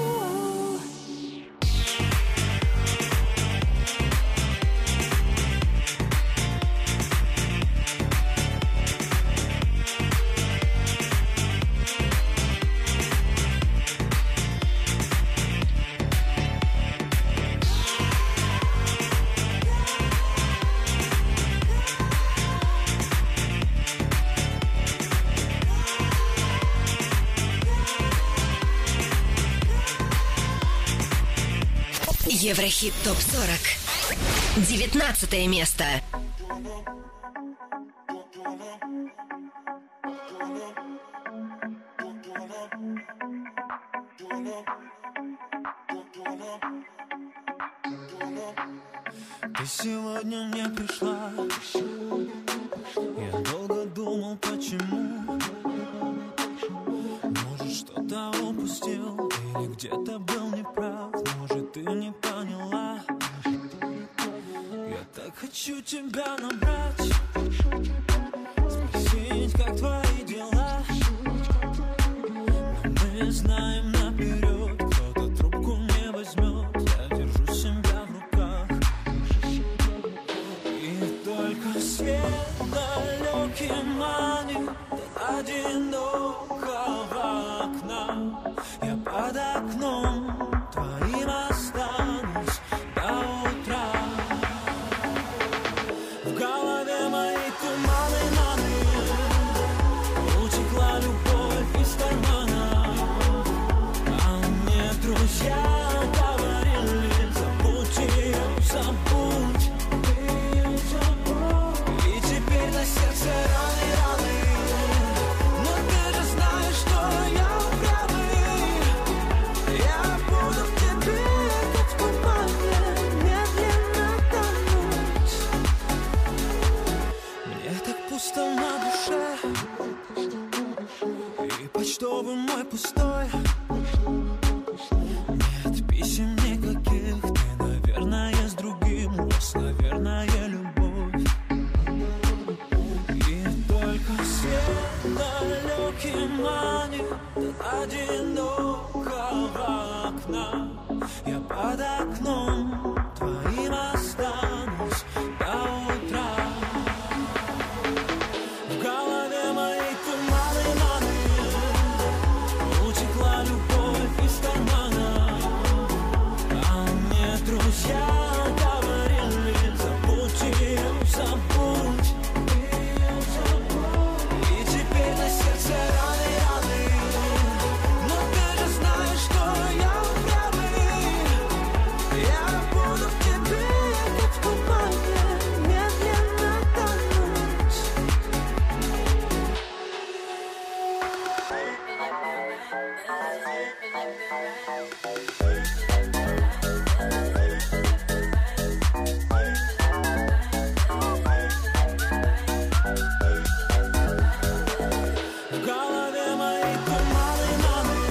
Еврохит топ сорок. Девятнадцатое место. Ты сегодня мне пришла. Я долго думал, почему. Может, что-то упустил или где-то был неправ. Может, ты не поняла. Я так хочу тебя набрать, спросить, как твои дела. Но мы знаем наперед, кто-то трубку не возьмет. Я держу себя в руках. И только свет далекий манит до одинокого окна. Я под окном твоим останусь до утра. В голове мои туманы, маны. Утекла любовь из кармана. А мне друзья говорили: забудь ее, забудь. И теперь на сердце раны, раны. Но ты же знаешь, что я упрямый. Я буду в тебе, как в тумане, медленно тонуть. Мне так пусто на душе, и почтовый мой пустой. Нет писем никаких, ты, наверное, с другим. У вас, наверное, любовь. И только свет далекий манит до одинокого окна. Я под окном твоим останусь до утра. В голове моей туманы, маны. Утекла любовь из кармана. А мне друзья говорили: забудь ее, забудь. И теперь на сердце раны, раны. Но ты же знаешь, что я упрямый. Я буду в тебе, как в тумане, медленно тонуть. В голове мои туманы, маны.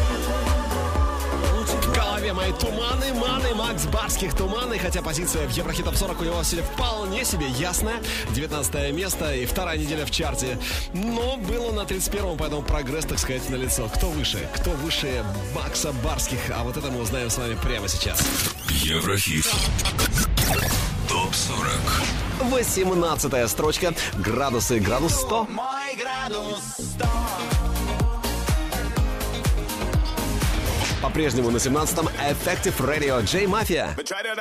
В голове мои туманы, маны, Макс Барских туманы. Хотя позиция в Еврохит топ сорок у него сегодня вполне себе ясная. девятнадцатое место и вторая неделя в чарте. Но было на тридцать первом, поэтому прогресс, так сказать, налицо. Кто выше? Кто выше Макса Барских? А вот это мы узнаем с вами прямо сейчас. Еврохит топ сорок. восемнадцатая строчка. Градусы. Градус сто. Мой градус сто. По-прежнему на семнадцатом Effective Radio J Mafia.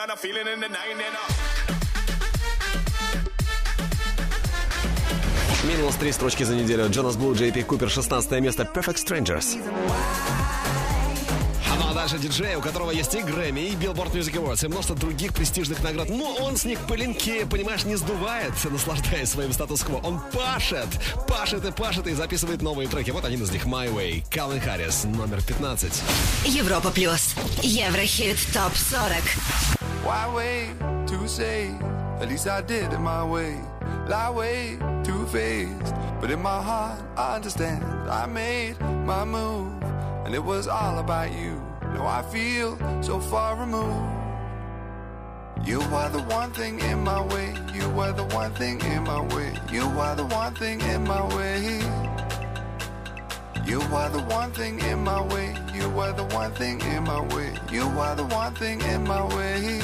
Минус три строчки за неделю. Джонас Блу, Джей Пи Купер, шестнадцатое место. Perfect Strangers. Ну а дальше диджей, у которого есть и Грэмми, и Billboard Music Awards, и множество других престижных наград. Но он с них пылинки, понимаешь, не сдувает, наслаждаясь своим статус-кво. Он пашет, пашет и пашет, и записывает новые треки. Вот один из них, My Way. Калвин Харрис, номер пятнадцать. Европа плюс. Еврохит топ сорок. Why wait to say? At least I did it my way. Lie way too faced, but in my heart I understand. I made my move, and it was all about you. Now I feel so far removed. You are the one thing in my way. You are the one thing in my way. You are the one thing in my way. You are the one thing in my way. You are the one thing in my way. You are the one thing in my way.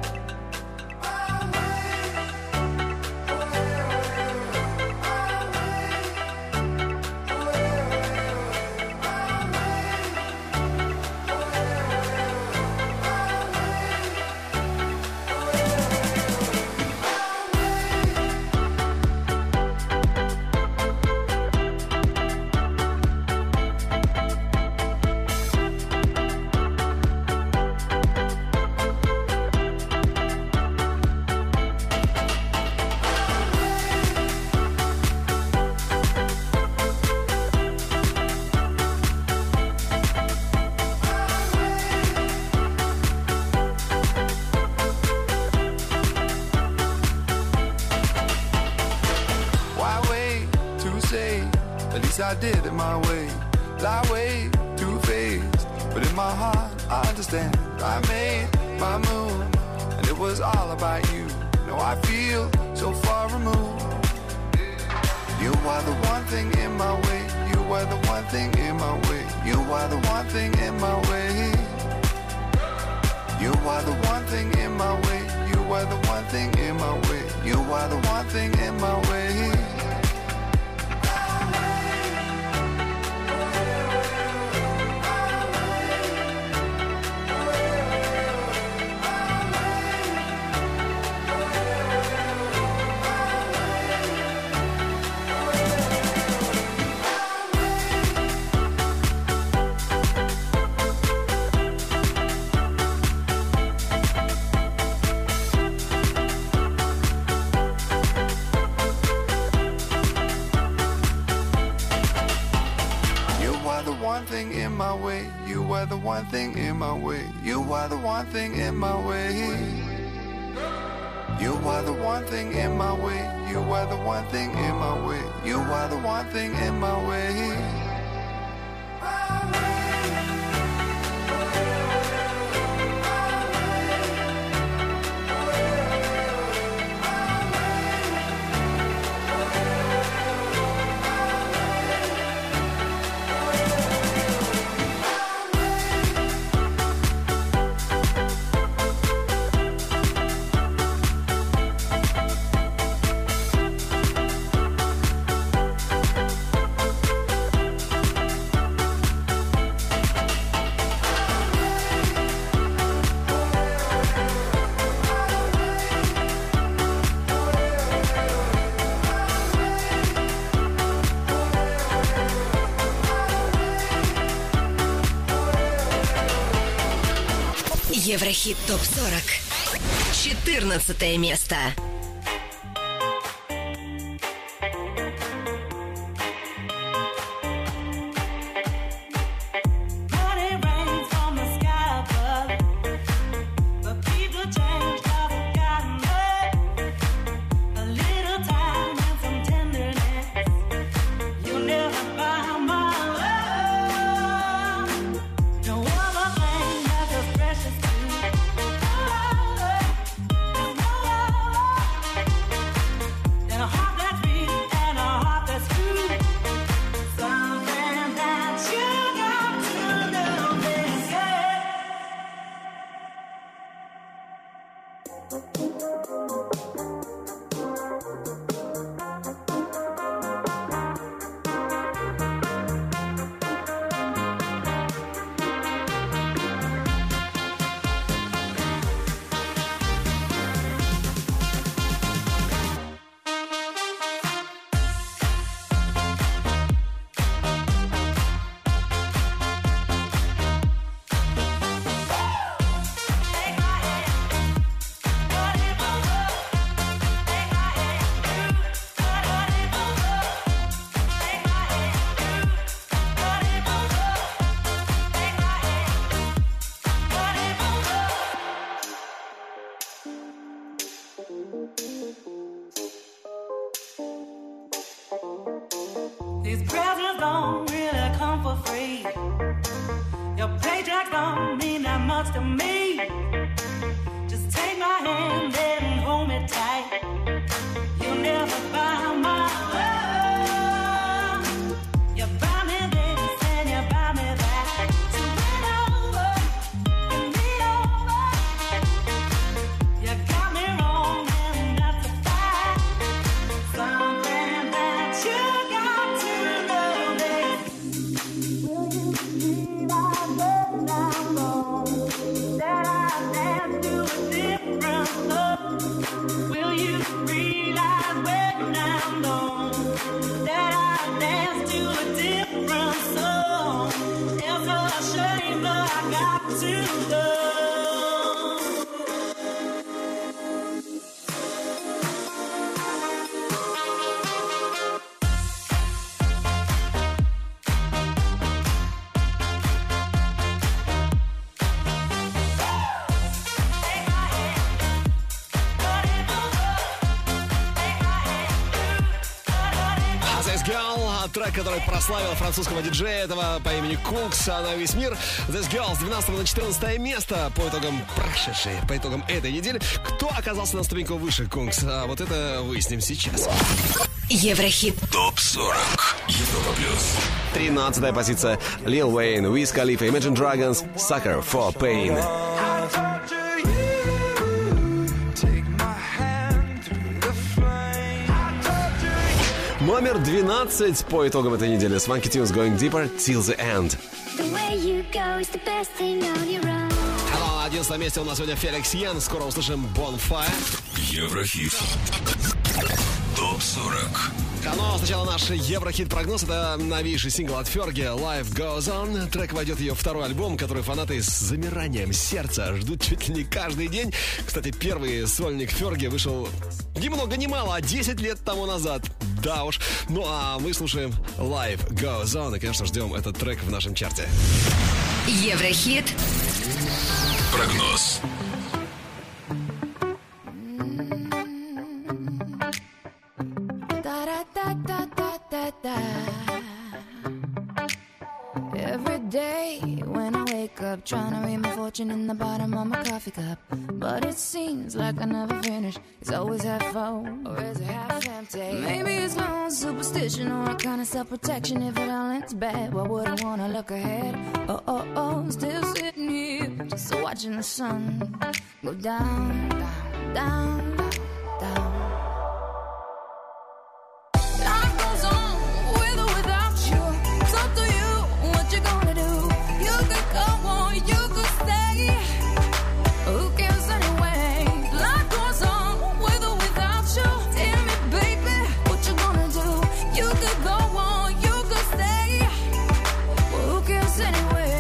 I did it my way, lie way too faced, but in my heart I understand. I made my move, and it was all about you. Now I feel so far removed. You are the one thing in my way. You are the one thing in my way. You are the one thing in my way. You are the one thing in my way. You are the one thing in my way. You are the one thing in my way. You are the one thing in my way. You are the one thing in my way. You are the one thing in my way. You are the one thing in my way. You are the one thing in my way. Еврохит топ сорок. четырнадцатое место. These presents don't really come for free. Your paycheck don't mean that much to me. Just take my hand and hold me tight. You'll never buy my love. You buy me this трек, который прославил французского диджея этого по имени Кукс на весь мир. This Girl с двенадцатого на четырнадцатое место по итогам прошедшей, по итогам этой недели. Кто оказался на ступеньку выше, Кукс? А вот это выясним сейчас. Еврохит. топ сорок. Европа плюс. тринадцатая позиция. Lil Wayne, Wiz Khalifa, Imagine Dragons, Sucker for Pain. Номер двенадцать по итогам этой недели. Swanky Tunes Going Deeper Till the End. Hello, на одиннадцатом месте у нас сегодня Феликс Йен. Скоро услышим Bonfire. Еврохит. топ сорок. Но сначала наш Еврохит-прогноз. Это новейший сингл от Ферги Life Goes On. Трек войдет в ее второй альбом, который фанаты с замиранием сердца ждут чуть ли не каждый день. Кстати, первый сольник Ферги вышел ни много ни мало, а десять лет тому назад. Да уж. Ну а мы слушаем Life Goes On. И, конечно, ждем этот трек в нашем чарте. Еврохит. Прогноз. Every day when I wake up, trying to read my fortune in the bottom of my coffee cup. But it seems like I never finish. It's always half full, or is it half empty? Maybe it's my own superstition or a kind of self-protection. If it all ends bad, why would I wanna look ahead? Oh, oh, oh, I'm still sitting here, just watching the sun go down, down, down, down. Life goes on with or without you. It's up to you what you're gonna do. You could go on, you could stay. Who cares anyway? Life goes on with or without you. Tell me, baby, what you gonna do? You could go on, you could stay. Who cares anyway?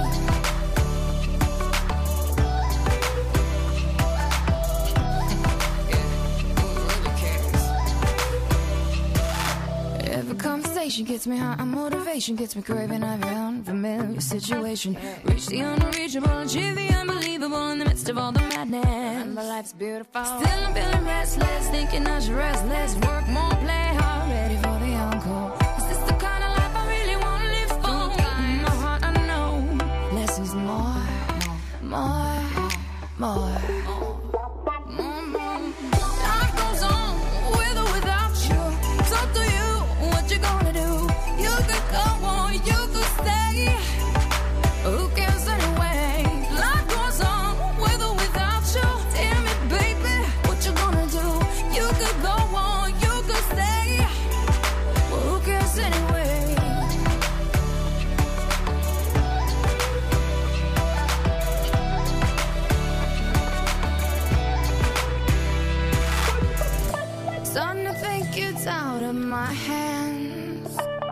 Every conversation gets me high, and motivation gets me craving every unfamiliar situation. Reach the unreachable, achieve the unbelievable in the midst of all the madness. Remember, life's beautiful. Still I'm feeling restless, thinking I should rest less, work more, play hard, ready for the encore. Is this the kind of life I really want to live for? In my heart I know less is more, more, more. More, more. Life goes on with or without you. It's up to you what you gonna do. You could go on, you could stay. Who cares anyway? Life goes on with or without you. Tell me, baby, what you gonna do? You could go on, you could stay. Who cares anyway? Starting to think it's out of my hands.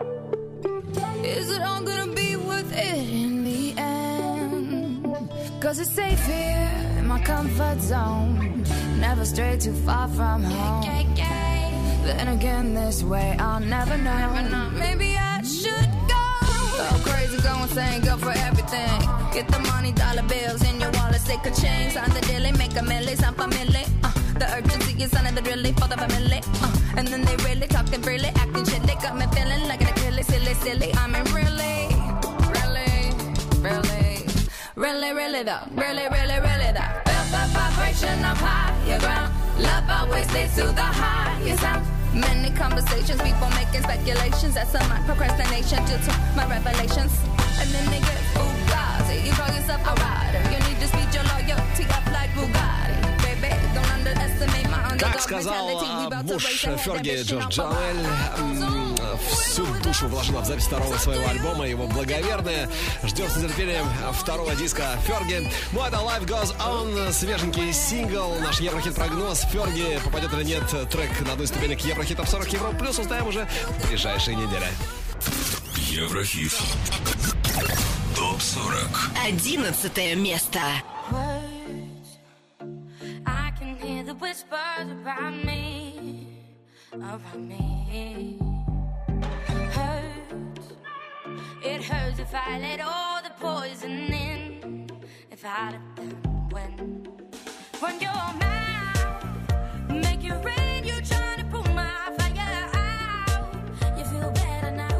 Is it all gonna be worth it in the end? Cause it's safe here in my comfort zone. Never stray too far from home. Then again, this way I'll never know. Maybe I should go. Go crazy, go insane, go for everything. Get the money, dollar bills in your wallet, stick a chain. Sign the deal, make a milli, some family. Uh, the urgency is under the really for the family. Uh, and then they really talking freely, acting shit. They got me feeling like an Achilles, silly, silly. I mean, really, really, really, really, really though, really, really, really though. Felt the vibration of higher ground. Love always leads to the highest sound. Many conversations, people making speculations. That's some my procrastination due to my revelations. And then they get Bugatti. You call yourself a rider. You need to speed your loyalty up like Bugatti. Baby, don't underestimate my underdog. Как сказал муж Ферги Джордж Джанель, всю душу вложила в запись второго своего альбома, его благоверная. Ждем с нетерпением второго диска Ферги. Ну, это Life Goes On, свеженький сингл, наш Еврохит-прогноз. Ферги попадет или нет трек на одну из ступенек Еврохит Топ сорок Европа Плюс, узнаем уже в ближайшие недели. Еврохит. Топ сорок. Одиннадцатое место. I can hear the whispers around me, around me. Hurts, it hurts if I let all the poison in. If I let them win, run your mouth, make it rain. You're trying to pull my fire out. You feel better now.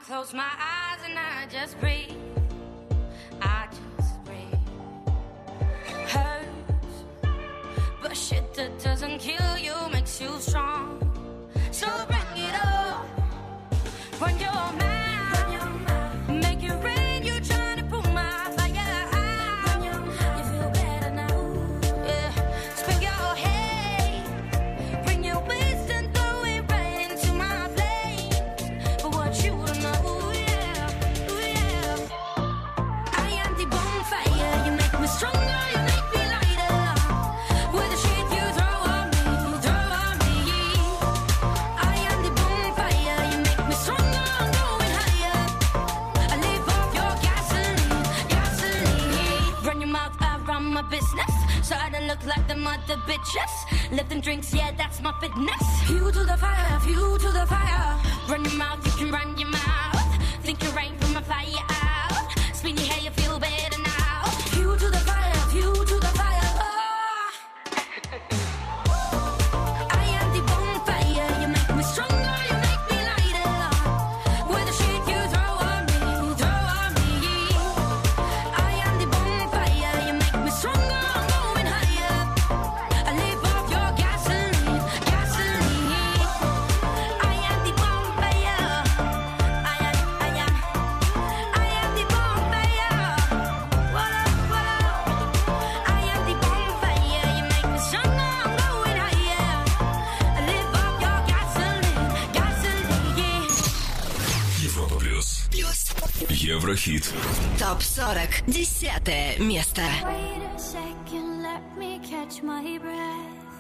close my eyes and I just breathe. I just breathe. Hurts, but shit that doesn't kill you makes you strong. So bring it on. Run your mouth. Make it rain. You trying to pull my fire out. You feel better now. Yeah. Spin your head. Bring your waist and throw it right into my flames. But what you don't know, yeah, yeah. I am the bonfire. You make me stronger. You make me lighter. With the shit you throw on me, throw on me. I am the bonfire. You make me stronger. I'm going higher. I live off your gasoline, gasoline. Run your mouth, I run my business. So I don't look like the mother bitches. Lifting drinks, yeah, that's my fitness. Fuel to the fire, fuel to the fire. Run your mouth, you can run your mouth. Think you rain from a fire out. Spin your hair, you feel better now. Fuel to the fire, fuel to the fire. Oh. I am the bonfire. You make me stronger, you make me lighter. With the shit you throw on me, throw on me. I am the bonfire. You make me stronger, I'm going higher. I live off your gasoline, gasoline. I am the bonfire. I am, I am, I am the bonfire. Voila, voila. I am the bonfire. You make me stronger, I'm going higher. I live off your gasoline, gasoline. Европа плюс. Плюс. Еврохит. Топ сорок. Десятое место. Wait a second, let me catch my breath.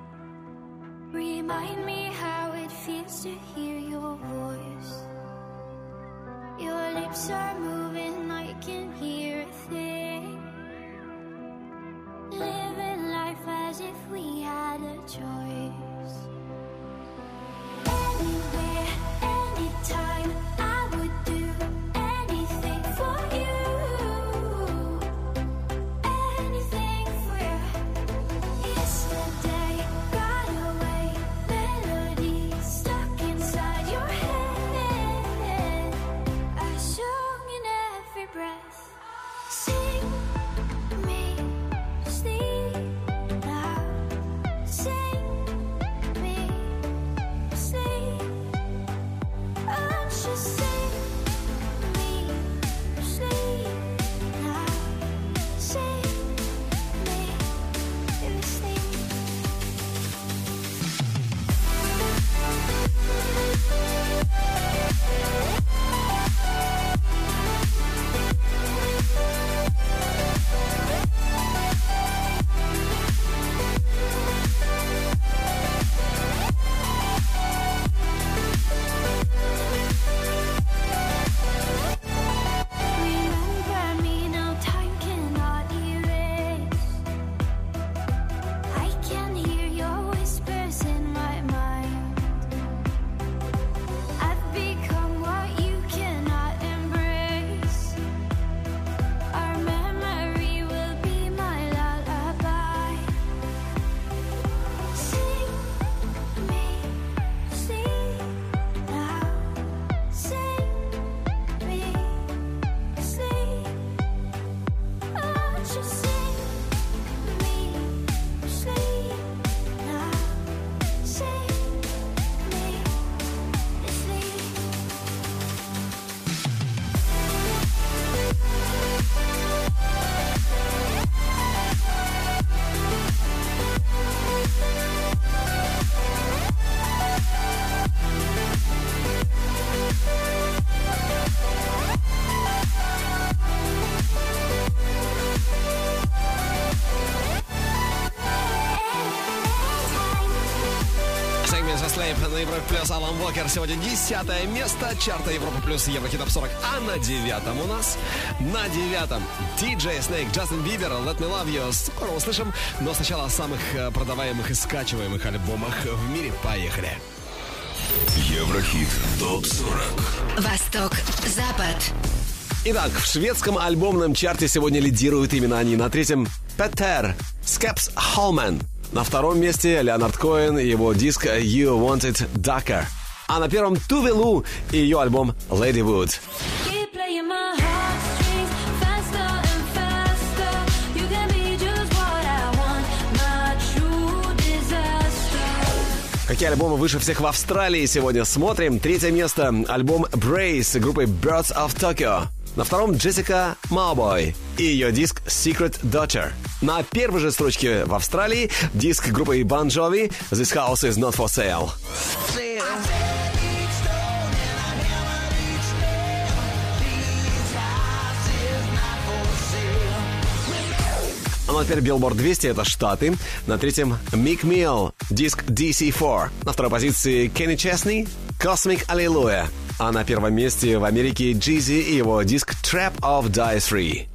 Remind me how it feels to hear your voice. Your lips are moving, I can hear a thing. Living life as if we had a choice. Anywhere, anytime, I would do anything for you. Anything for you. Yesterday got away, melodies stuck inside your head. A song in every breath. Sing me sleep now. Sing me sleep. Oh, just sing me sleep now. Sing me sleep. Remember me, no time cannot erase. I can hear your whispers in my mind. I've become what you cannot embrace. Our memory will be my lullaby. Sing me sleep now. Sing me sleep. Oh, just sing me sleep now. Sing me sleep. Сегмент «The Slave» на Европе плюс. Алан Уокер. Сегодня десятое место чарта Европа плюс Еврохит Топ сорок. А на девятом у нас, на девятом ди джей Snake, Джастин Бибер, Let Me Love You. Скоро услышим, но сначала о самых э, продаваемых и скачиваемых альбомах в мире. Поехали. Еврохит Топ сорок. Восток, Запад. Итак, в шведском альбомном чарте сегодня лидируют именно они. На третьем Petter, Skep's Holman. На втором месте Леонард Коэн и его диск You Want It Darker. А на первом Tove Lo и ее альбом Lady Wood. Keep playing my heartstrings faster and faster. You can be just what I want, my true disaster. Какие альбомы выше всех в Австралии сегодня смотрим? Третье место — альбом Brace группы Birds of Tokyo. На втором Джессика Маубой и ее диск Secret Daughter. На первой же строчке в Австралии диск группы Bon Jovi This House Is Not For Sale. А на теперь Billboard двести — это Штаты. На третьем Meek Mill, диск ди си четыре. На второй позиции Kenny Chesney, Cosmic Hallelujah. А на первом месте в Америке Jeezy и его диск Trap of Die Three.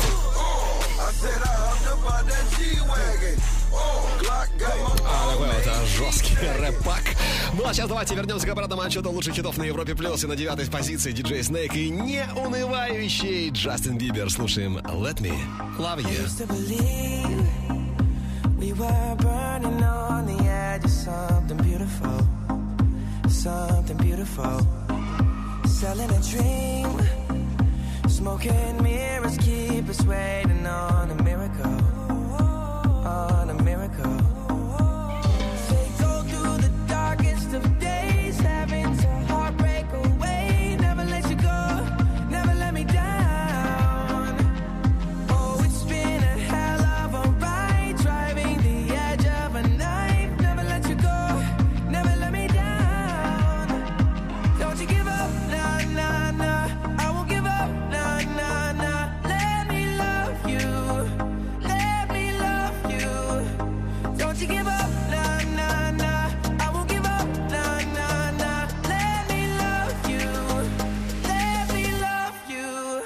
А, такой вот жесткий рэп-пак. Ну а сейчас давайте вернемся к обратному отчету лучших хитов на Европе Плюс. И на девятой позиции диджей Snake и неунывающий Джастин Бибер. Слушаем Let Me Love You. We were burning on the edge of something beautiful, something beautiful. Selling a dream, smoking mirrors keep us waiting on a miracle, on a miracle. They go through the darkest of days, having to heartbreak away. Never let you go, never let me down. Oh, it's been a hell of a ride, driving the edge of a knife. Never let you go, never let me down. Don't you give up, nah, nah, nah. I won't give up, nah, nah, nah. Let me love you, let me love you. Don't you give up, nah, nah, nah. I won't give up, nah, nah, nah. Let me love you, let me love you.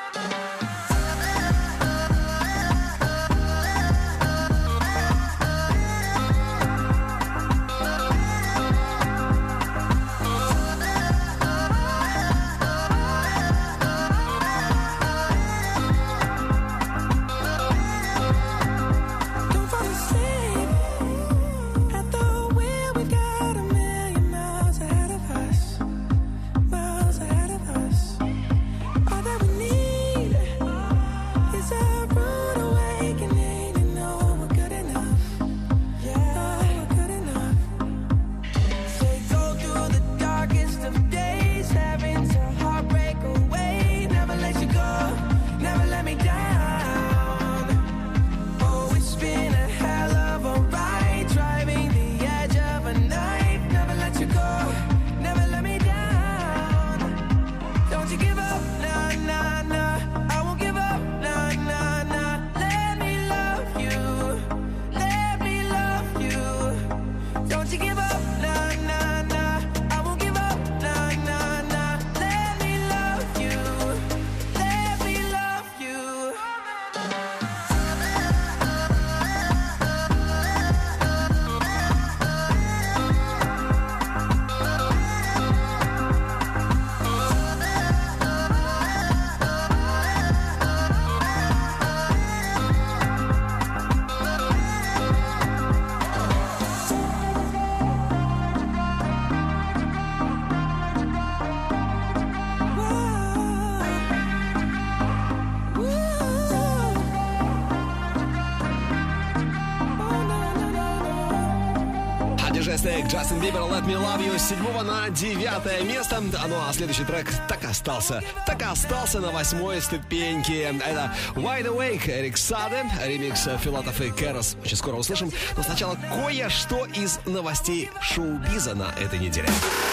Don't fall asleep at the wheel. We got a million miles ahead of us, miles ahead of us. All that we need is a rude awakening to know we're good enough. Yeah, we're good enough. They go through the darkest of days, having to heartbreak away. Never let you go, never let me down. Oh, it's been a hell of a ride, driving the edge of a knife. Never let you go, never let me down. Don't you give up, nah, nah, nah. I won't give up, nah, nah, nah. Let me love you, let me love you. Don't you give up, nah, nah, nah. I won't give up, nah, nah, nah. Let me love you, let me love you. А диджей Snake, Джастин Бибер, Let Me Love You с седьмого на девятое место. Ну а следующий трек так остался, так остался на восьмой ступеньке. Это Wide Awake, Эрик Саде, ремикс Филатов и Кэрос. Очень скоро услышим. Но сначала кое-что из новостей шоу-биза на этой неделе.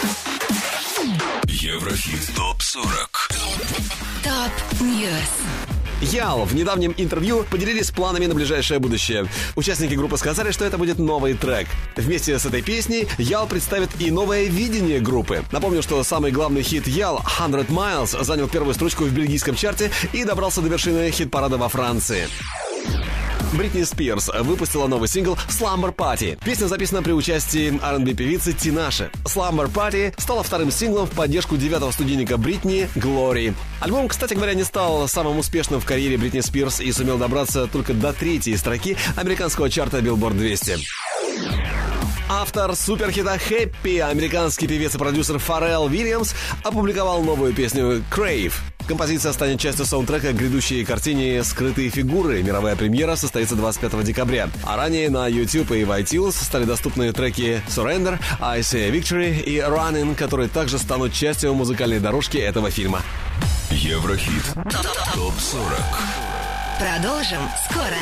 Еврохит топ сорок. Топ Ньюс. Ял в недавнем интервью поделились планами на ближайшее будущее. Участники группы сказали, что это будет новый трек. Вместе с этой песней Ял представит и новое видение группы. Напомню, что самый главный хит Ял «сто Miles» занял первую строчку в бельгийском чарте и добрался до вершины хит-парада во Франции. Бритни Спирс выпустила новый сингл «Slumber Party». Песня записана при участии ар энд би-певицы Тинаши. «Slumber Party» стала вторым синглом в поддержку девятого студийника Бритни «Glory». Альбом, кстати говоря, не стал самым успешным в карьере Бритни Спирс и сумел добраться только до третьей строки американского чарта Billboard двести. Автор суперхита «Happy», американский певец и продюсер Фаррелл Уильямс, опубликовал новую песню «Crave». Композиция станет частью саундтрека к грядущей картине «Скрытые фигуры». Мировая премьера состоится двадцать пятого декабря. А ранее на YouTube и в iTunes стали доступны треки «Surrender», «I Say Victory» и «Running», которые также станут частью музыкальной дорожки этого фильма. Еврохит топ сорок. Продолжим скоро.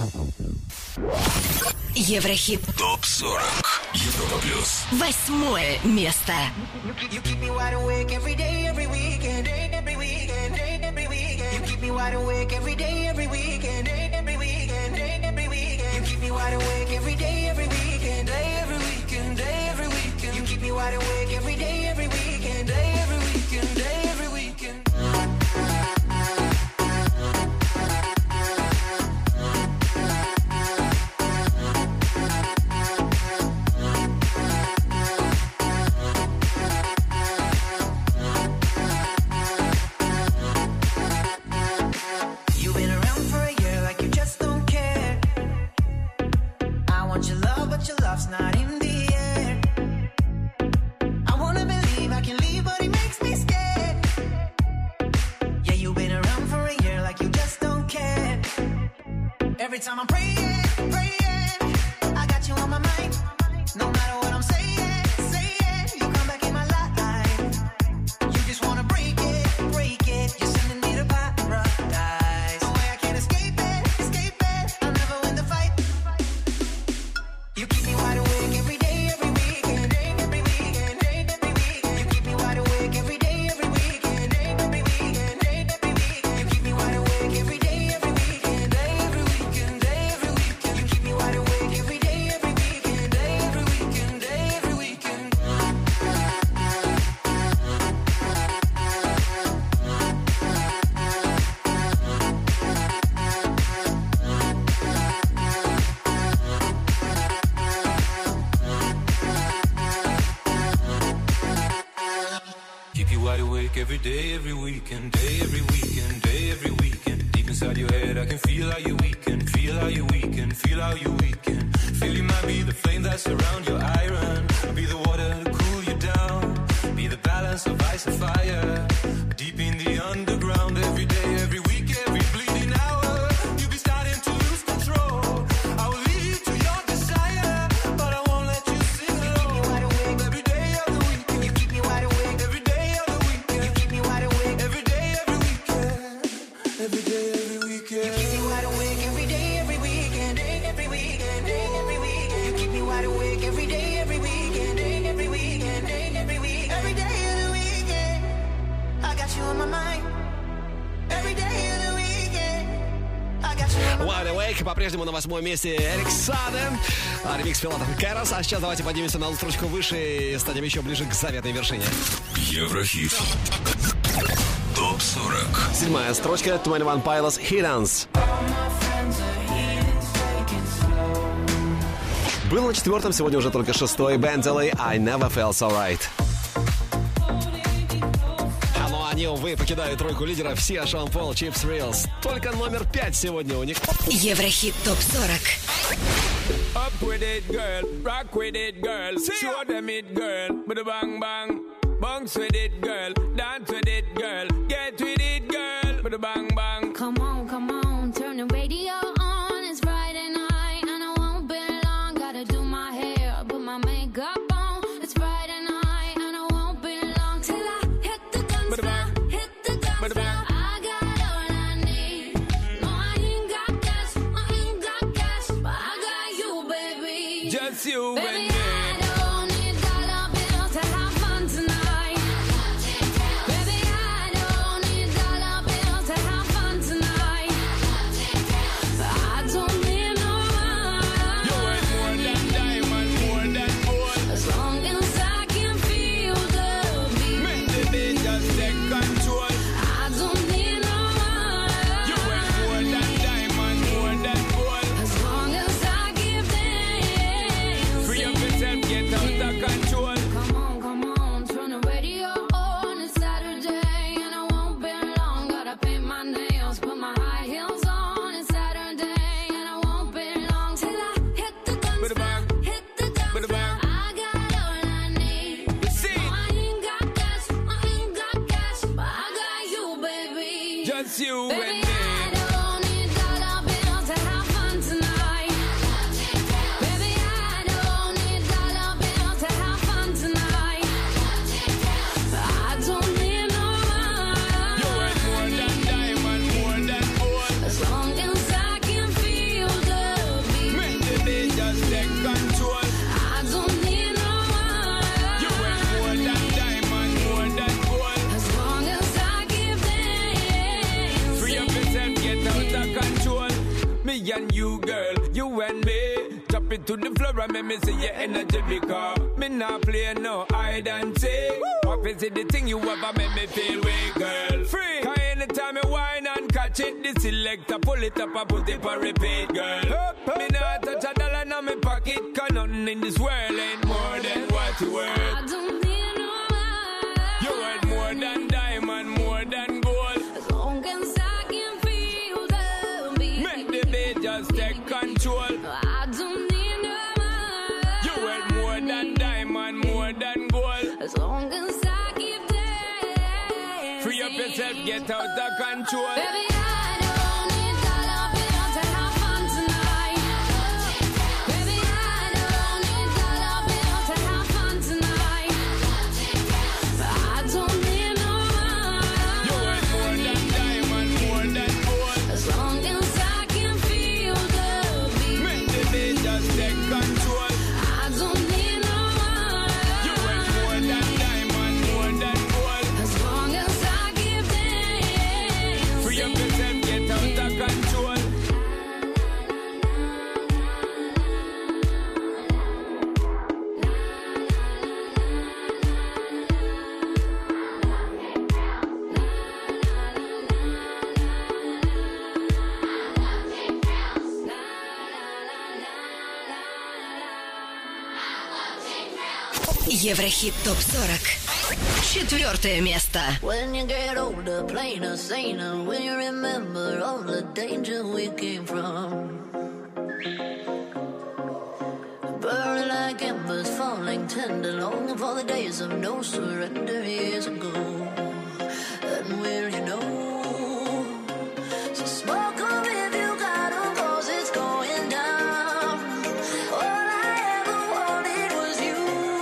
Еврохит топ сорок. Европа плюс. Восьмое место. You keep me wide awake every day, every weekend, every weekend, every weekend. You keep me wide awake every day, every weekend, every weekend, every weekend. You keep me wide awake every day, every weekend, every weekend, every weekend. You keep me wide awake every day, every weekend, every weekend, every weekend. Your love's not in the air. I wanna believe I can leave, but it makes me scared. Yeah, you've been around for a year like you just don't care. Every time I'm praying, praying, I got you on my mind. No matter what I'm saying, saying, you come back in my life. You just wanna break it, break it. You're sending me to paradise. No way I can't escape it, escape it. I'll never win the fight. You keep me wide awake every day, every weekend, every weekend, every weekend. You keep me wide awake every day, every weekend, every weekend, every weekend. You keep me wide awake every day, every weekend, every weekend, every weekend. You keep me wide awake every day, every weekend, every weekend, every weekend. Keep you wide awake every day, every weekend, day, every weekend, day, every weekend. Deep inside your head, I can feel how you weaken, feel how you weaken, feel how you weaken. Feel you might be the flame that surround your iron. I'll be the water to cool you down. Be the balance of ice and fire. Deep in the underground, every day, every week, every bleeding hour. You'll be starting to lose control. I will lead you to your desire, but I won't let you sing alone. Every day of the weekend, you keep me wide awake. Every day of the weekend, you keep me wide awake. Every day, every weekend, every day, every weekend. You keep me wide awake every day, every weekend, every weekend, every weekend. You keep me wide awake every day, every weekend, every weekend, every weekend. Every day of the weekend, I got you on my mind. Every day of the weekend, I got you on my mind. Wide Awake по-прежнему на восьмом месте Эрик Саде, ремикс Филатов и Кайрос. А сейчас давайте поднимемся на строчку выше и станем еще ближе к заветной вершине. Еврохит топ сорок. Седьмая строчка двадцать один Pilots Hit Dance. Был на четвертом, сегодня уже только шестой. Бенд эл эй I Never Felt So Right. А ну они, увы, покидают тройку лидеров. Сиа, Шон Пол, Чипс Рилс. Только номер пять сегодня у них. Еврохит топ сорок. Up with it, girl. Rock with it, girl. Show them it, girl. With a bang bang. Bounce with it, girl. Dance with it, girl. Get with it, girl. With a bang bang. Come on, come on, turn the radio on. It's Friday night and I won't be long. Gotta do my hair, put my makeup on. It's Friday night and I won't be long till I hit the guns now, hit the guns now. I got all I need. No, I ain't got cash, I ain't got cash, but I got you, baby. Just you Baby, and me. I don't need dollar bills to have fun tonight. Baby, I don't need dollar bills to have fun tonight. I don't need no money. You worth more than diamond, more than gold. As long as I can feel the beat. Make the day just take control. I don't need no money. You worth more than diamond, more than gold. As long as I give them. Free your Just you Baby, and me. I don't need dollar bills to have fun tonight. Baby, I don't need dollar bills to have fun tonight. I don't need no money. You worth more than diamond, more than gold. As long as I can feel the beat. Make the beat just take control. I don't need no money. You worth more than diamond, more than gold. As long as I keep dancing. Free up yourself, get out of control. Me and you, girl, you and me. Drop it to the floor and make me see your energy because me not play no hide and seek. Obviously the thing you ever make me feel weak, girl. Free. Cause anytime you whine and catch it, the selector pull it up and put it for repeat, girl. Me not touch a dollar in my pocket, cause nothing in this world ain't more than what you worth. I don't need no money. You worth more than diamond, more than gold. As long as I can feel the beat. Make the beat just take control. I don't need no money. You worth more than diamond, more than gold. As long as I keep dancing. Free up yourself, get out of control. Baby, I don't need dollar bills to have fun tonight. Baby, I don't need dollar bills to have fun tonight. I don't need no You money. worth more than diamond, more than gold. As long as I can feel the beat. Make the beat just take control. I don't need no You money. worth more than diamond, more than gold. As long as I keep dancing. Free up yourself, get out of control. Еврохит топ сорок. Четвертое место. When you get older, plainer, saner, when you remember all the danger we came from. Burning like embers, falling tender, longing for the days of no surrender years ago. And will you know? So smoke 'em if you got 'em, 'cause it's going down. All I ever wanted was you.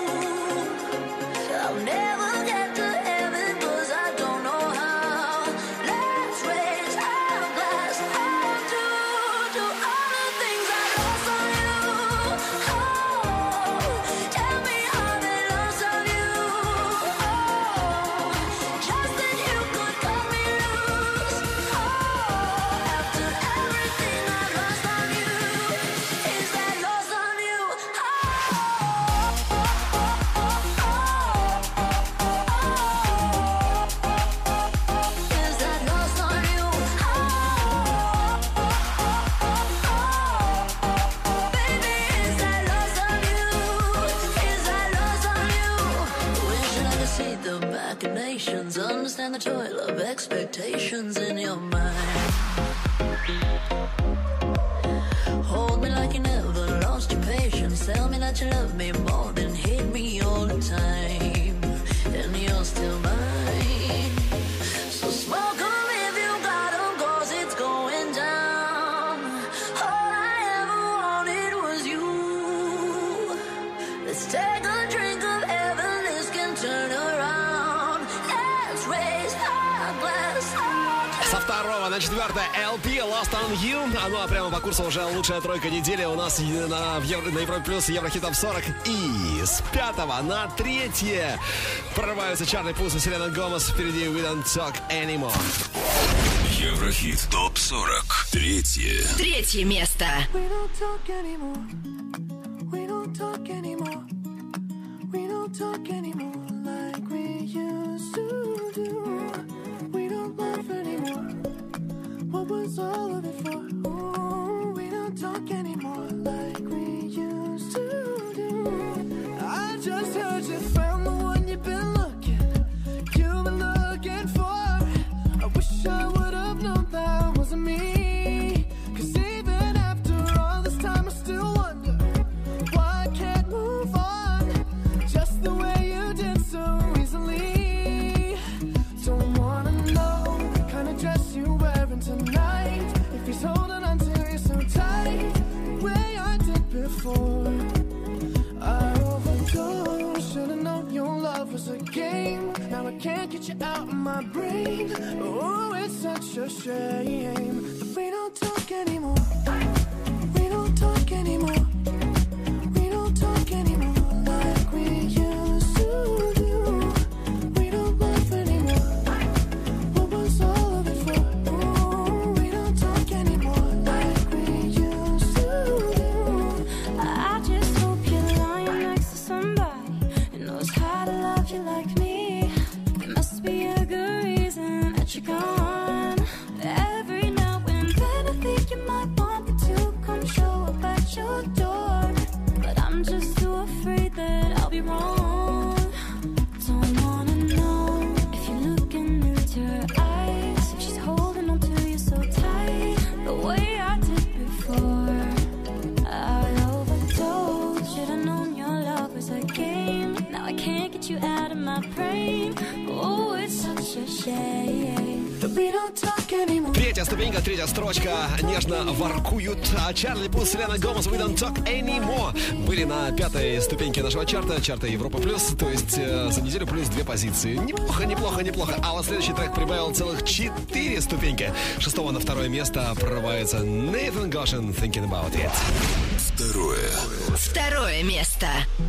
I'll never get to heaven 'cause I don't know how. Let's raise our glass up to, to all the things I lost on you. Oh, tell me how they lost on you. Oh, just that you could cut me loose. Oh, after everything I've lost on you, is that lost on you? Is that lost on you? Baby, is that lost on you? Is that lost on you? Wishing I could see the machinations, understand the toil of expectations in your mind. Hold me like you never lost your patience. Tell me that you love me more than hate me all the time. And you're still mine. So smoke 'em if you got 'em, 'cause it's going down. All I ever wanted was you. Let's take a drink of heaven, this can turn around. Let's raise our glass up. Со второго на четвертое эл пи Lost on You. А ну а прямо по курсу уже лучшая тройка недели у нас на, в Евро, на Европе Плюс Еврохит топ сорок. И с пятого на третье прорываются Чарли Пус и Селена Гомес. Впереди We Don't Talk Anymore. Еврохит топ сорок. Третье. Третье место. We don't talk anymore. We don't talk anymore. We don't talk anymore like we used to do. We don't laugh anymore. What was all of it for? Ooh, we don't talk anymore like we used to do. I just heard you found the one you've been looking, you've been looking for. I wish I would have known that wasn't me. 'Cause even after all this time I still wonder why I can't move on just the way you did. can't get you out of my brain. Oh, it's such a shame that we don't talk anymore. We don't talk anymore. We don't talk anymore like we used to do. We don't laugh anymore. What was all of it for? Oh, we don't talk anymore like we used to do. I just hope you're lying next to somebody who knows how to love you like me. There must be a good reason that you're gone. Every now and then I think you might want me to come show up at your door, but I'm just too afraid that I'll be wrong. Don't wanna know if you're looking into her eyes, if she's holding on to you so tight, the way I did before. I overdosed, should've known your love was a game. Now I can't get you out of my brain. Oh, it's such a shame that we don't talk anymore. Третья ступенька, третья строчка. Нежно воркуют Чарли Пус, Селена Гомес, We Don't Talk Anymore. Были на пятой ступеньке нашего чарта, чарта Европа Плюс. То есть э, за неделю плюс две позиции. Неплохо, неплохо, неплохо. А вот следующий трек прибавил целых четыре ступеньки. Шестого на второе место прорывается Nathan Goshen, Thinking About It. Второе. Второе место.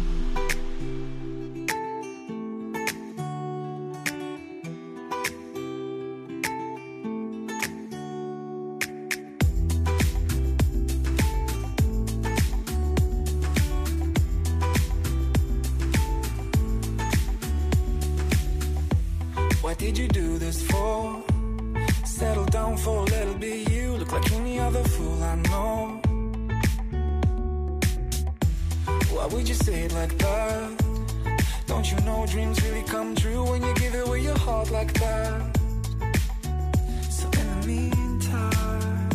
What did you do this for? Settle down for a little bit. You look like any other fool I know. Why would you say it like that? Don't you know dreams really come true when you give away your heart like that? So in the meantime,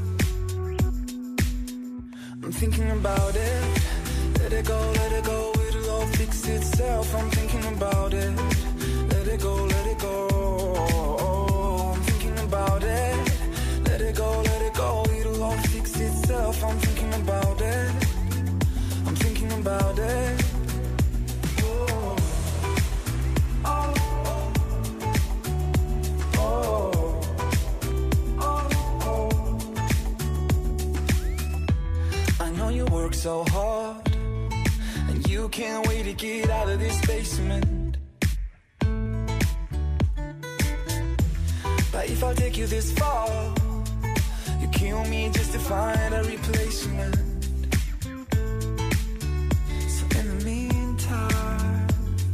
I'm thinking about it. Let it go, let it go, it'll all fix itself. I'm thinking about it. Let it go, let it go. I'm thinking about it. Let it go, let it go, it'll all fix itself. I'm thinking about it. I'm thinking about it. Oh, oh, oh, oh, oh. I know you work so hard, and you can't wait to get out of this basement. But if I take you this far, you kill me just to find a replacement. So in the meantime,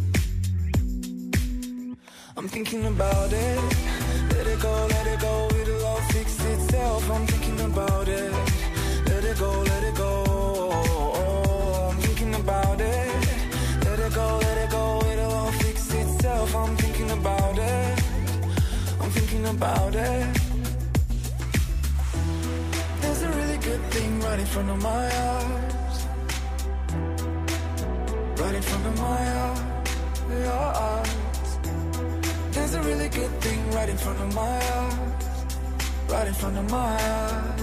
I'm thinking about it. Let it go, let it go, it'll all fix itself. I'm thinking about it. Let it go, let it go. I'm thinking about it. Let it go, let it go, it'll all fix itself. I'm thinking about it. I'm thinking about it. There's a really good thing right in front of my eyes. Right in front of my eyes. There's a really good thing right in front of my eyes. Right in front of my eyes.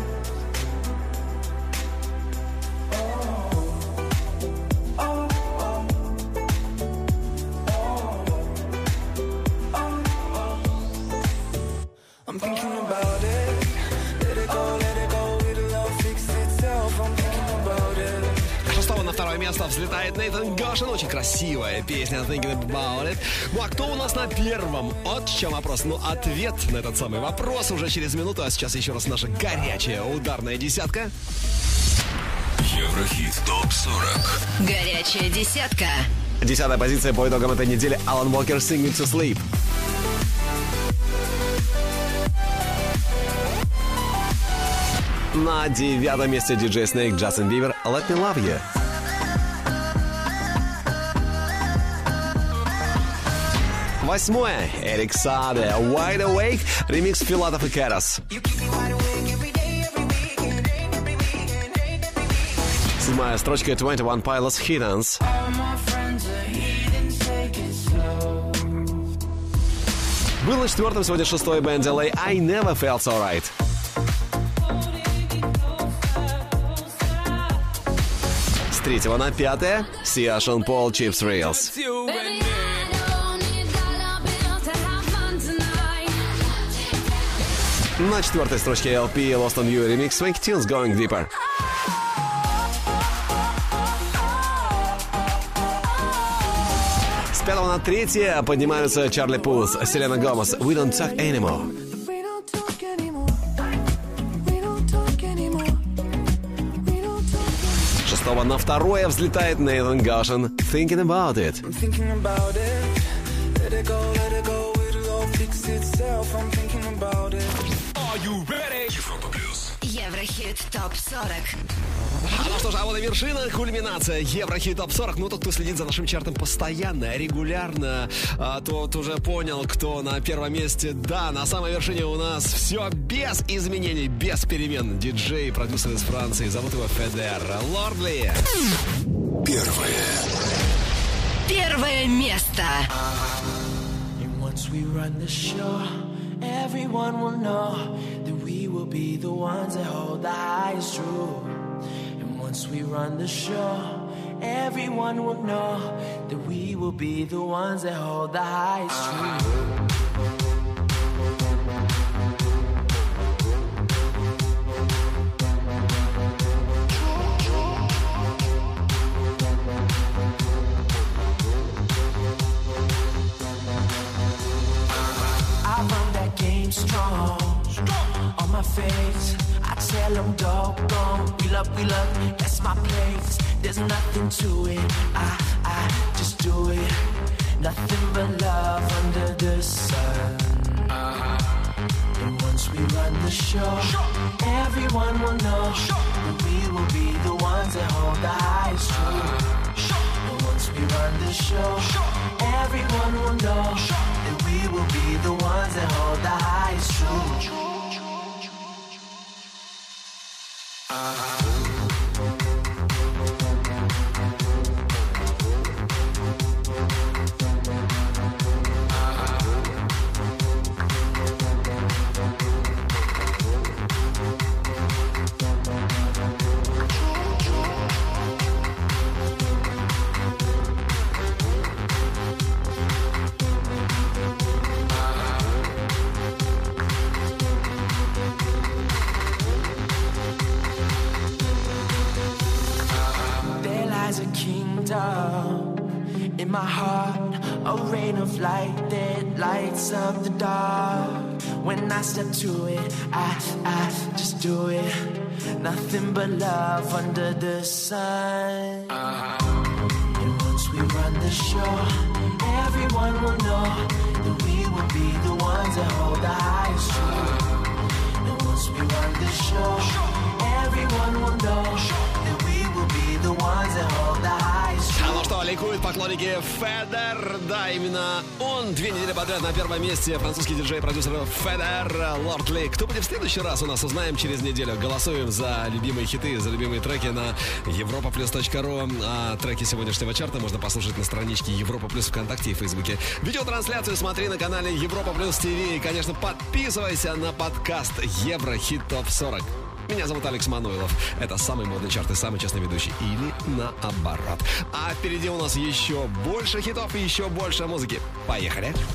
I'm thinking about it. Let it go, let it go, it'll all fix itself. I'm thinking about it. Шестого на второе место взлетает Нейтан Гошин. Очень красивая песня Thinking About It. Ну а кто у нас на первом? Вот в чем вопрос. Ну, ответ на этот самый вопрос уже через минуту. А сейчас еще раз наша горячая ударная десятка. Еврохит топ сорок. Горячая десятка. Десятая позиция по итогам этой недели. Алан Уокер, Sing Me to Sleep. На девятом месте диджей Snake, Джастин Бибер, Let Me Love You. Восьмое. Эрик Саде, Wide Awake, ремикс Филатов и Кэрос. Седьмая строчка двадцать один Pilots Heathens. Был на четвертом, сегодня шестой Бен Дилей, I Never Felt So Right. С третьего на пятое Сиа, Шон Пол, Чипс Reels. На четвертой строчке эл пи Lost on You Remix Swanky Tunes Going Deeper. С пятого на третье поднимаются Чарли Пулс, Селена Гомес, We Don't Talk Anymore. С шестого на второе взлетает Нейтан Гошин, Thinking About It. Еврохит топ сорок. А ну что же, а вот и вершина, кульминация Еврохит топ сорок. Ну, тот, кто следит за нашим чартом постоянно, регулярно, а, тот уже понял, кто на первом месте. Да, на самой вершине у нас все без изменений, без перемен. Диджей, продюсер из Франции, зовут его Федер Лордли. Первое. Первое место. Once we run the show, everyone will know that we will be the ones that hold the highest truth. And once we run the show, everyone will know that we will be the ones that hold the highest truth. Strong, on my face, I tell them doggone, wheel up, wheel up, that's my place. There's nothing to it, I, I just do it. Nothing but love under the sun. And once we run the show, everyone will know that we will be the ones that hold the highest truth. And once we run the show, everyone will know that we will be the ones that hold the highest truth. In my heart, a rain of light that lights up the dark. When I step to it, I, I just do it. Nothing but love under the sun. And once we run the show, everyone will know that we will be the ones that hold the highest truth. And once we run the show, everyone will know that we will be the ones that hold the highest truth. А ну что, ликуют поклонники Федер. Да, именно он две недели подряд на первом месте. Французский диджей, продюсер Федер Лордли. Кто будет в следующий раз, у нас узнаем через неделю. Голосуем за любимые хиты, за любимые треки на европа плюс точка ру. А треки сегодняшнего чарта можно послушать на страничке Европа Плюс ВКонтакте и Фейсбуке. Видеотрансляцию смотри на канале Европа Плюс ТВ. И, конечно, подписывайся на подкаст Еврохит топ сорок. Меня зовут Алекс Мануилов. Это самый модный чарт и самый честный ведущий. Или наоборот. А впереди у нас еще больше хитов и еще больше музыки. Поехали!